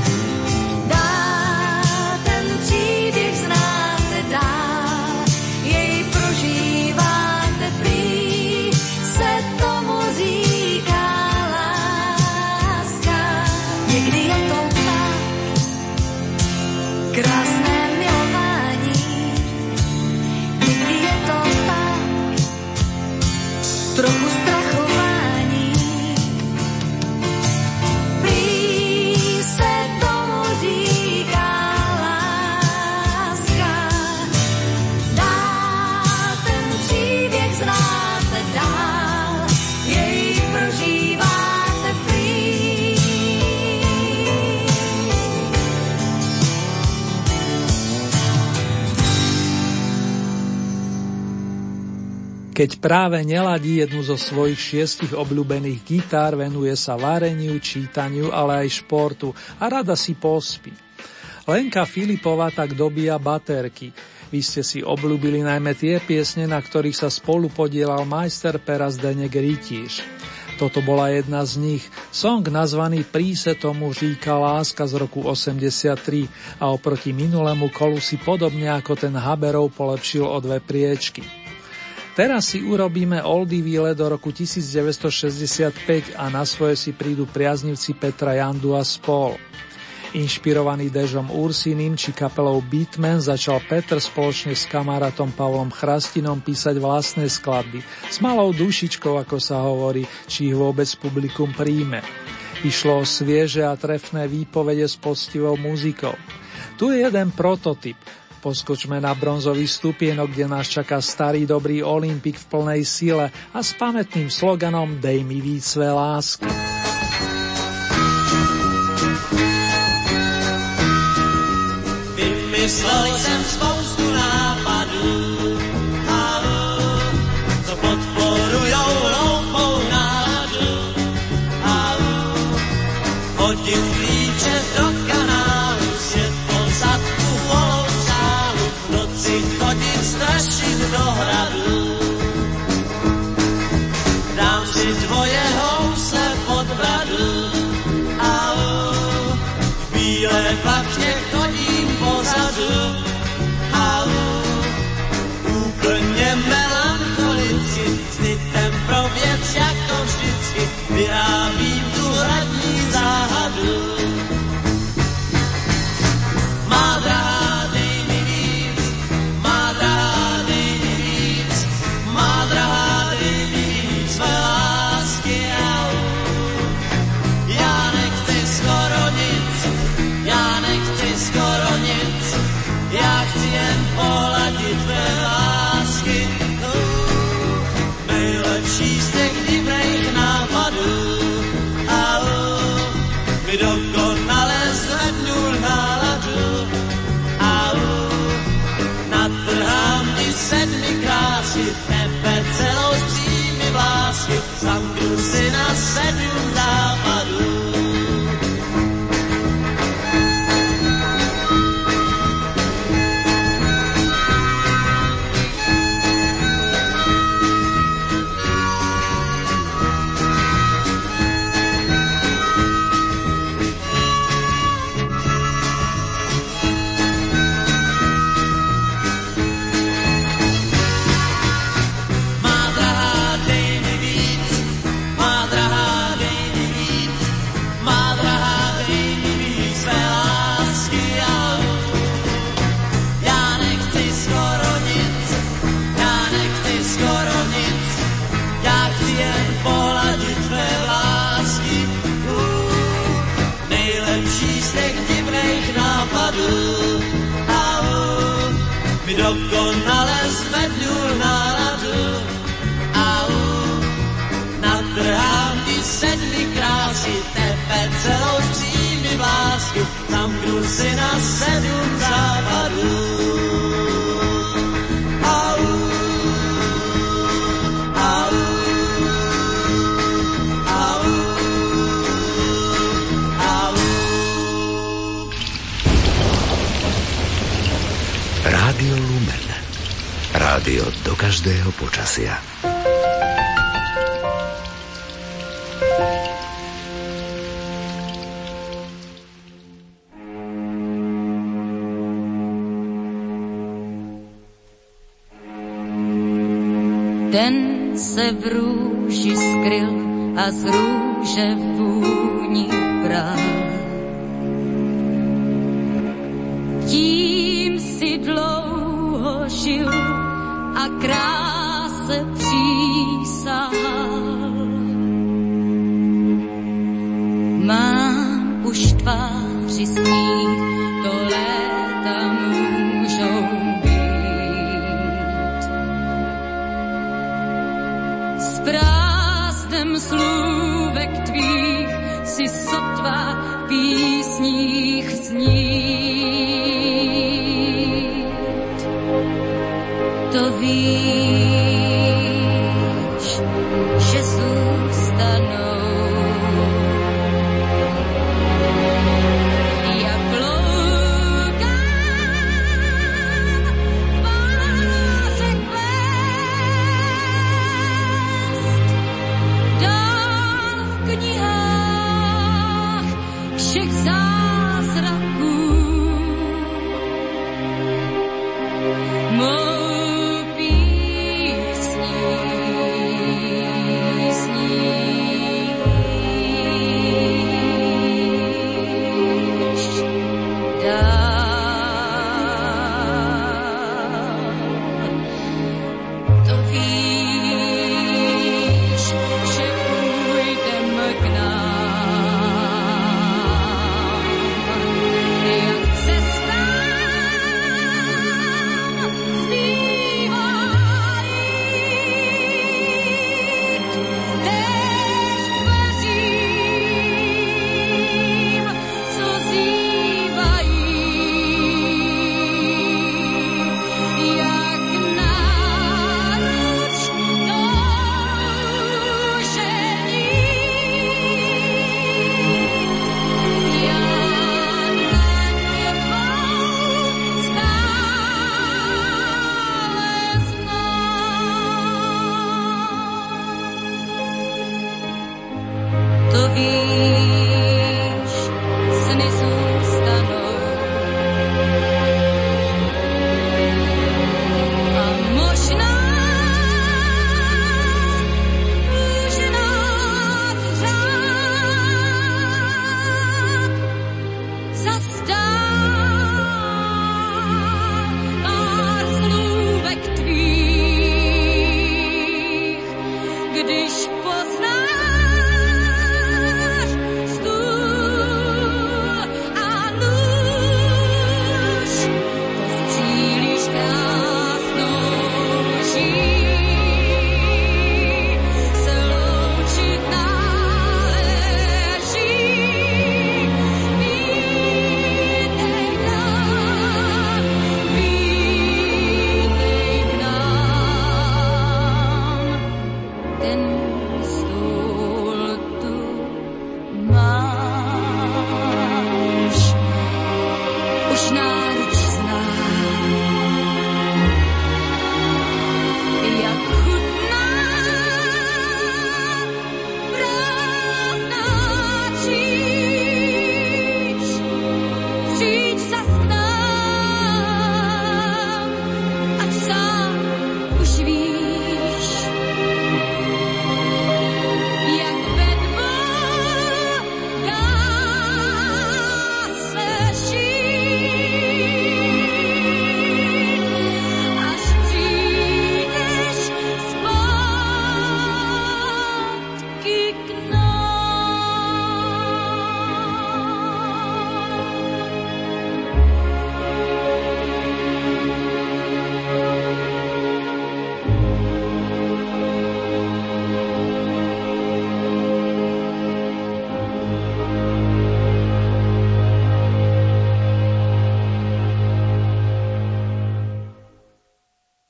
Speaker 13: Dál ten příběh znáte dál, jej prožíváte prý, se tomu říká láska. Někdy je to tak, krásné trochu strachování. Prý se tomu říká láska. Dál ten příběh znáte dál, jej prožíváte prý.
Speaker 3: Keď práve neladí jednu zo svojich šiestich obľúbených gitár, venuje sa vareniu, čítaniu, ale aj športu a rada si pospí. Lenka Filipová tak dobíja baterky. Vy ste si obľúbili najmä tie piesne, na ktorých sa spolu podielal majster pera Zdeněk Rytíř. Toto bola jedna z nich, song nazvaný Prý se tomu říká láska z roku osemdesiattri a oproti minulému kolu si podobne ako ten Haberov polepšil o dve priečky. Teraz si urobíme oldie výlet do roku devätnásťstošesťdesiatpäť a na svoje si prídu priaznivci Petra Jandu a spol. Inšpirovaný Dežom Ursínym či kapelou Beatman začal Petr spoločne s kamarátom Pavlom Chrastinom písať vlastné skladby s malou dušičkou, ako sa hovorí, či ich vôbec publikum príjme. Išlo o svieže a trefné výpovede s poctivou muzikou. Tu je jeden prototyp. Poskočme na bronzový stupienok, kde nás čaká starý dobrý Olympik v plnej sile a s pamätným sloganom Dej mi víc své lásky.
Speaker 4: Vymyslel jsem spoustu nápadů, co podporujou hloupou náladu. Hodit klíče do kanálu, světlo zadku holou sálu, v noci chodit strašit do hradu. Dám si tvoje housle pod bradu, chci jen poladit tvé lásky. Uh, nejlepší z těch divných nápadů. A uh, mi dokonale zvednul náladu. A uh, natrhám ti sedmi krásy, tebe celou z přími vlásky, zamknu si na sedm západů. Dokonale zvednul náladu a natrhám ti sedmi krásy, tebe celou z přími vlásky, zamknu si na sedm západů. Au, au, au, au.
Speaker 14: Rádio Lumen. Rádio do každého počasia.
Speaker 12: Ten se v růži skryl a z růže vůni bral. Tím si dlouho žil a kráse přísahal. Mám už tváři smích, to léta můžou být. S prázdnem slůvek tvých si sotva v písních snít. To víš, že zůstanou. Jak loukám páře kvést, dál v knihách všech zázraků.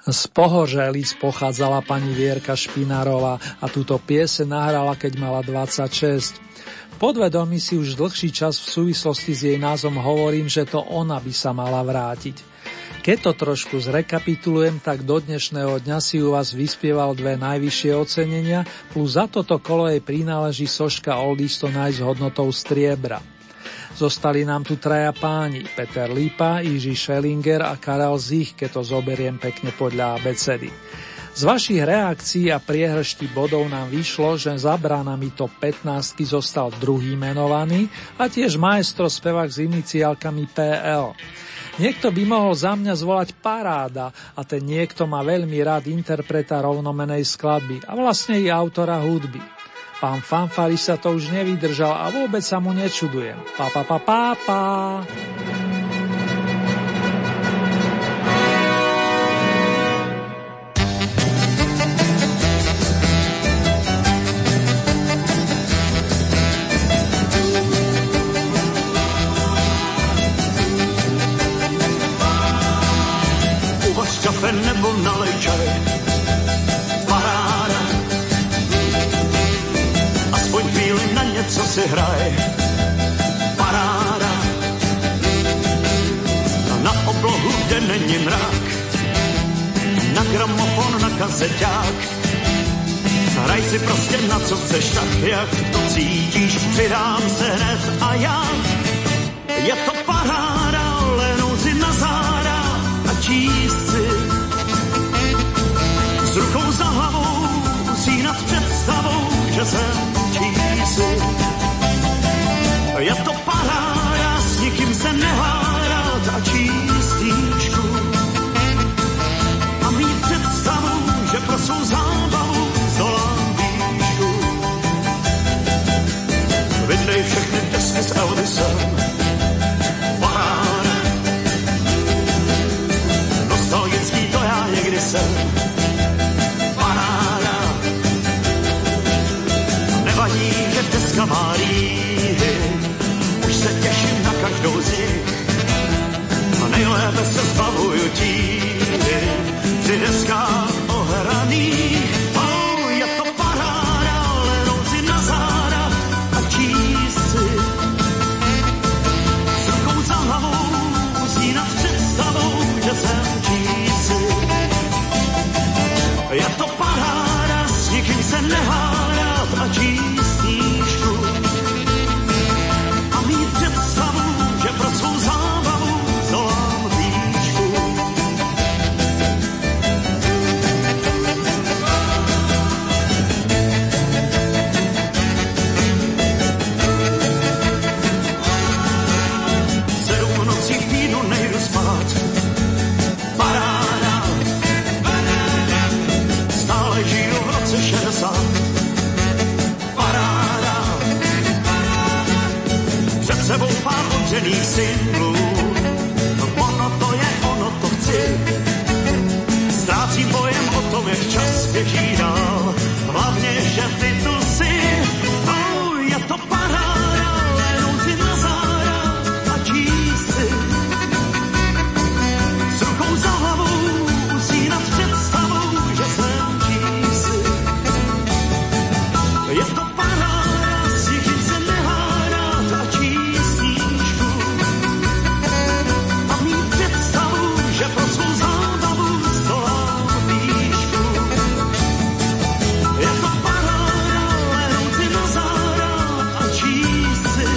Speaker 3: Z Pohořelic pochádzala pani Vierka Špinárová a túto piese nahrala, keď mala dvadsaťšesť. V podvedomí si už dlhší čas v súvislosti s jej názvom hovorím, že to ona by sa mala vrátiť. Keď to trošku zrekapitulujem, tak do dnešného dňa si u vás vyspieval dve najvyššie ocenenia, plus za toto kolo jej prináleží soška Oldies Tonight s hodnotou striebra. Zostali nám tu traja páni, Peter Lípa, Jiří Schellinger a Karel Zich, keď to zoberiem pekne podľa abecedy. Z vašich reakcií a priehršti bodov nám vyšlo, že za bránami top pätnásť zostal druhý menovaný a tiež maestro spevák s iniciálkami pé el. Niekto by mohol za mňa zvolať Paráda a ten niekto má veľmi rád interpreta rovnomenej skladby a vlastne i autora hudby. Pán Fanfari sa to už nevydržal a vôbec sa mu nečudujem. Pa, pa, pa, pa, pa.
Speaker 4: Uvař kafe nebo nalej čaj. Co si hraj, paráda. Na oblohu, kde není mrak, na gramofon, na kazeťák. Hraj si prostě na co chceš, tak jak to cítíš, přidám se hned a já. Je to paráda, lehnout si na záda a číst si. S rukou za hlavou, usínat představou, že jsem čísi. Je to paráda, s nikým se nehádat a číst knížku. A mít představu, že pro svou zábavu zdolám výšku. Vydej všechny desky s Elvisem. Paráda. Nostalgický to já někdy jsem. Paráda. Nevadí, že deska má rýhy, už se těším na každou z nich a nejlépe se zbavuju tíhy při deskách ohraných. Oh, je to paráda, lehnout si na záda a číst si. S rukou za hlavou, usínat představou, že jsem čísi. Je to paráda, s nikým se nehádat a číst knížku. A mít představu, že pro svou zábavu zdolám výšku. Sedm nocí v týdnu nejdu spát. Paráda. Stále žiju v roce šedesát. Paráda. Před sebou pár odřených singlů. Ono to je, ono to chci. Ztrácím pojem o tom, jak čas běží dál. Hlavně, že ty tu jsi. Oh, je to paráda, lehnout si na záda a číst si. S rukou za hlavou, usínat představou, že jsem čísi. Je to paráda, s nikým se nehádat a číst knížku. A mít představu, že pro svou zábavu zdolám výšku. Je to paráda, lehnout si na záda a číst si.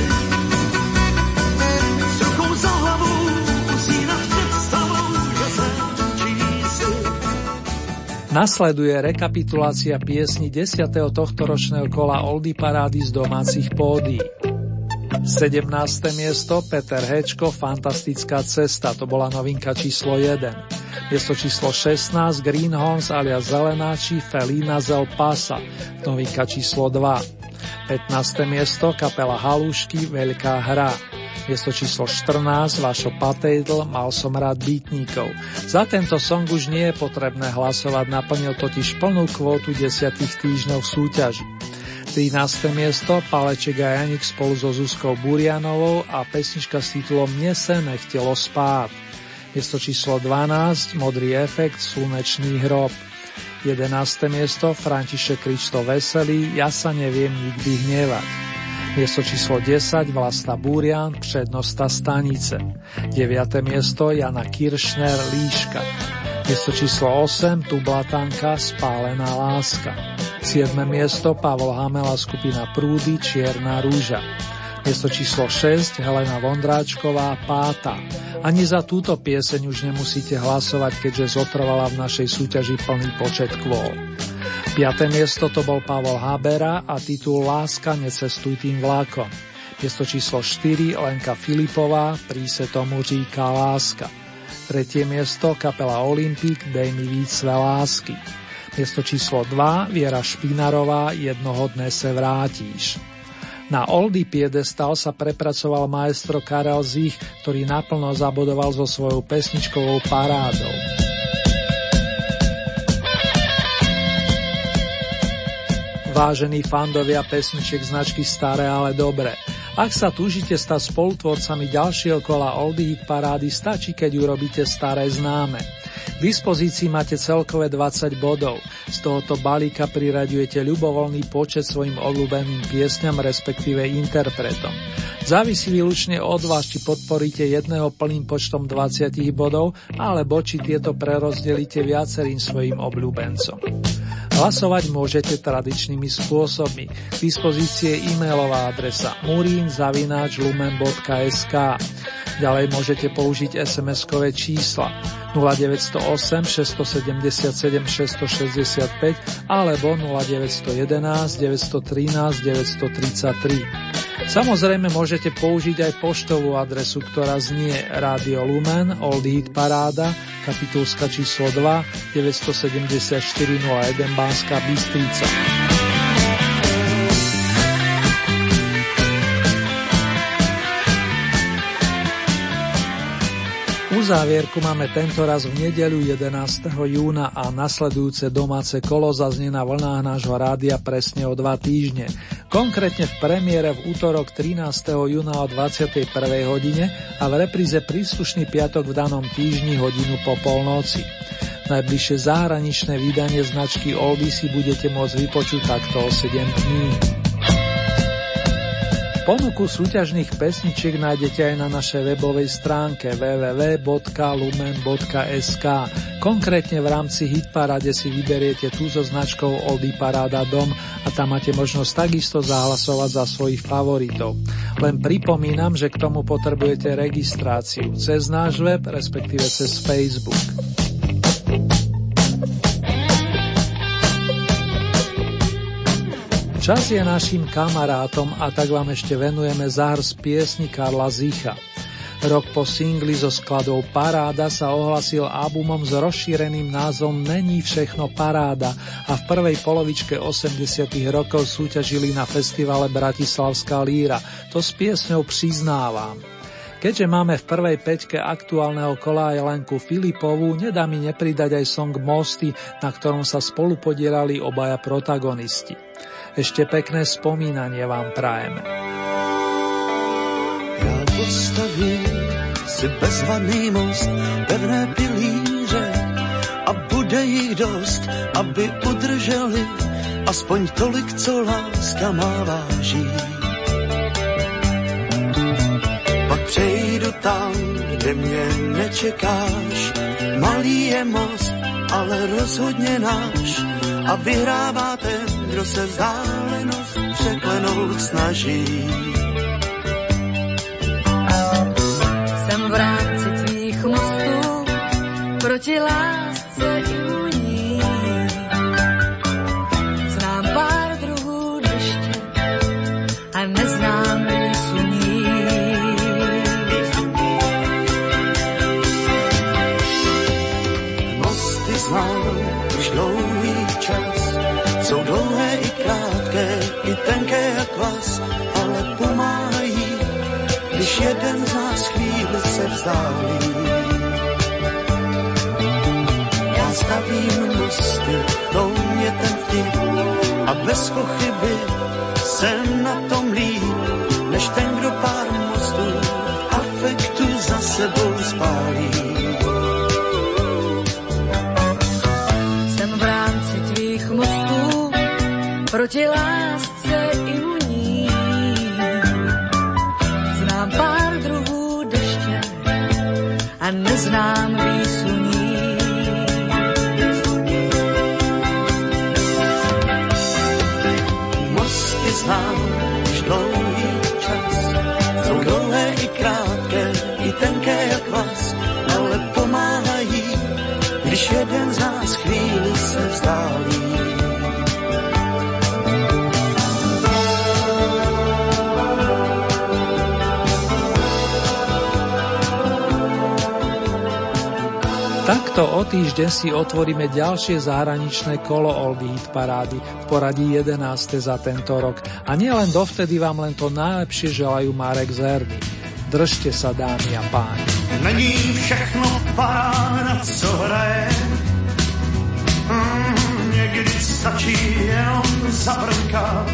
Speaker 4: S rukou za hlavou, usínat představou, že jsem čísi.
Speaker 3: Nasleduje rekapitulácia piesni desiateho tohtoročného kola Oldie parády z domácich pódií. sedemnáste miesto Peter Hečko, Fantastická cesta, to bola novinka číslo jeden. Miesto číslo šestnásť Greenhorns alias Zelenáči, Felina Zel Pasa, novinka číslo dva. pätnáste miesto kapela Halušky, Veľká hra. Miesto číslo štrnásť Vašo Patejdl, Mal som rád býtníkov. Za tento song už nie je potrebné hlasovať, naplnil totiž plnú kvótu desiatich týždňov v súťaži. trináste miesto Paleček a Janik spolu so Zuzkou Burianovou a pesnička s titulom Mne se nechtelo spát. Miesto číslo dvanásť, Modrý efekt, Slnečný hrob. jedenáste miesto, František Krišto Veselý, Ja sa neviem nikdy hnevať. Miesto číslo desať, Vlasta Búrian, Přednosta stanice. deviate miesto, Jana Kiršner, Líška. Miesto číslo osem, Tublatanka, Spálená láska. siedme miesto, Pavol Hamela, skupina Prúdy, Čierna rúža. Miesto číslo šesť, Helena Vondráčková, Páta. Ani za túto pieseň už nemusíte hlasovať, keďže zotrvala v našej súťaži plný počet kvôl. piate miesto to bol Pavol Habera a titul Láska, necestuj tým vlákom. Miesto číslo štyri, Lenka Filipová, Prý se tomu říká láska. Tretie miesto, kapela Olympik, Dej mi víc své lásky. Miesto číslo dva, Viera Špinarová, Jednoho dne se vrátíš. Na oldie piedestal sa prepracoval maestro Karel Zich, ktorý naplno zabodoval so svojou pesničkovou parádou. Vážení fandovia pesničiek značky Staré, ale dobré. Ak sa túžite stať spolutvorcami ďalšieho kola oldie hit parády, stačí, keď urobíte staré známe. K dispozícii máte celkové dvadsať bodov. Z tohoto balíka priraďujete ľubovoľný počet svojim obľúbeným piesňam, respektíve interpretom. Závisí výlučne od vás, či podporíte jedného plným počtom dvadsať bodov, alebo či tieto prerozdelíte viacerým svojim obľúbencom. Hlasovať môžete tradičnými spôsobmi. K dispozícii je e-mailová adresa murin zavináč lumen bodka es ká. Ďalej môžete použiť es em eskové čísla nula deväť nula osem šesť sedem sedem šesť šesť päť alebo nula deväť jeden jedna deväť jedna tri deväť tri tri. Samozrejme môžete použiť aj poštovú adresu, ktorá znie Rádio Lumen, Oldie Hit Paráda, Kapitulska číslo dva, deväť sedem štyri nula jeden Banská Bystrica. Uzávierku máme tento raz v nedeľu jedenásteho júna a nasledujúce domáce kolo zaznie na vlnách nášho rádia presne o dva týždne. Konkrétne v premiére v útorok trinásteho júna o dvadsiatej prvej hodine a v repríze príslušný piatok v danom týždni hodinu po polnoci. Najbližšie zahraničné vydanie značky Oldie si budete môcť vypočuť takto o sedem dní. Ponuku súťažných pesničiek nájdete aj na našej webovej stránke w w w bodka lumen bodka es ká. Konkrétne v rámci Hitparáde si vyberiete tú so značkou Oldie Paráda Dom a tam máte možnosť takisto zahlasovať za svojich favoritov. Len pripomínam, že k tomu potrebujete registráciu cez náš web, respektíve cez Facebook. Čas je našim kamarátom a tak vám ešte venujeme záhrs piesni Karla Zicha. Rok po singli so skladou Paráda sa ohlasil albumom s rozšíreným názvom Není všechno paráda a v prvej polovičke osemdesiatych rokov súťažili na festivale Bratislavská líra. To s piesňou Přiznávam. Keďže máme v prvej peťke aktuálneho kola aj Lenku Filipovú, nedá mi nepridať aj song Mosty, na ktorom sa spolupodielali obaja protagonisti. Ešte pekné spomínanie vám prajeme.
Speaker 4: Já postavím si bezvadný most, pevné pilíře a bude jich dost, aby udrželi aspoň tolik, co láska má váží. Pak přejdu tam, kde mě nečekáš, malý je most, ale rozhodně náš a vyhrává ten, kdo se vzdálenost překlenout snaží.
Speaker 13: Jsem v rámci tvých mostů proti lásce i vůní. Znám pár druhů deště a neznám suní.
Speaker 4: Mosty znám už dlouhý čas, jsou dlouhé i krátké, i tenké jak vás, ale pomáhají, když jeden z nás chvíli se vzdálí. Já stavím mosty, to mě ten vtip, a bez pochyby jsem na tom líp, než ten, kdo pár mostů afektu za sebou spálí.
Speaker 13: proti lásce imunní. Znám pár druhů deště a neznám výsluní.
Speaker 4: Mosty znám už dlouhý čas, jsou dlouhé i krátké, i tenké jak vás, ale pomáhají, když jeden z nás chvíli se vzdálí.
Speaker 3: Takto o týždeň si otvoríme ďalšie zahraničné kolo Oldie Hit parády v poradí jedenáste za tento rok. A nielen dovtedy vám len to najlepšie želajú Marek Zerny. Držte sa, dámy a páni.
Speaker 4: Není všechno paráda, co hraje. Mm, někdy stačí jenom zabrnkat.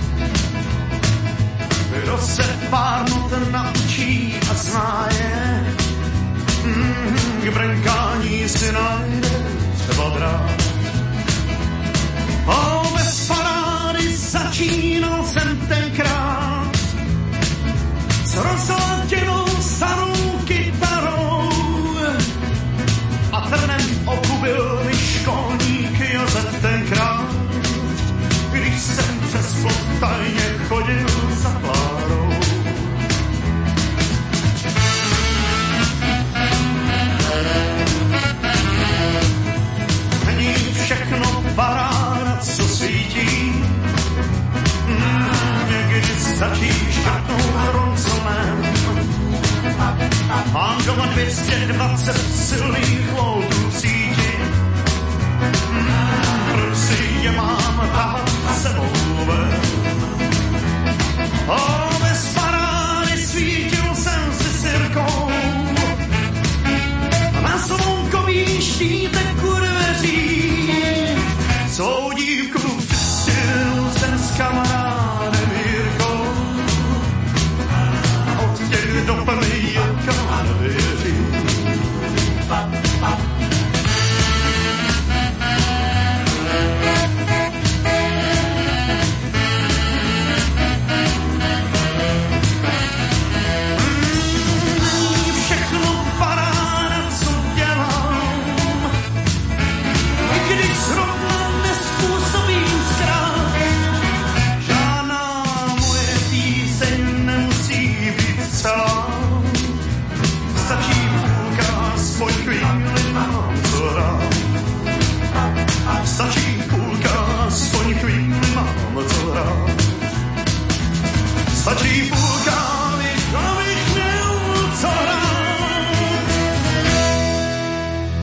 Speaker 4: Kdo se pár not naučí a zná je, mm, k brnkání si najde třeba drát. O, bez parády začínal jsem tenkrát s rozladěnou starou kytarou a trnem okubil mi školník Josef tenkrát, když jsem přes plot tajně chodil za Klárou. Není všechno paráda, co svítí, mm, někdy stačí škrtnout ronconem. Mám doma dvě stě dvacet silných voltů v síti, mm, proč si je mám tahat sebou ven. O, bez parády svítil jsem si sirkou na slunkový štítek u dveří. Svou dívku přistil jsem s kamarádem Jirkou, od těch do plný Jirka nevěří. Stačí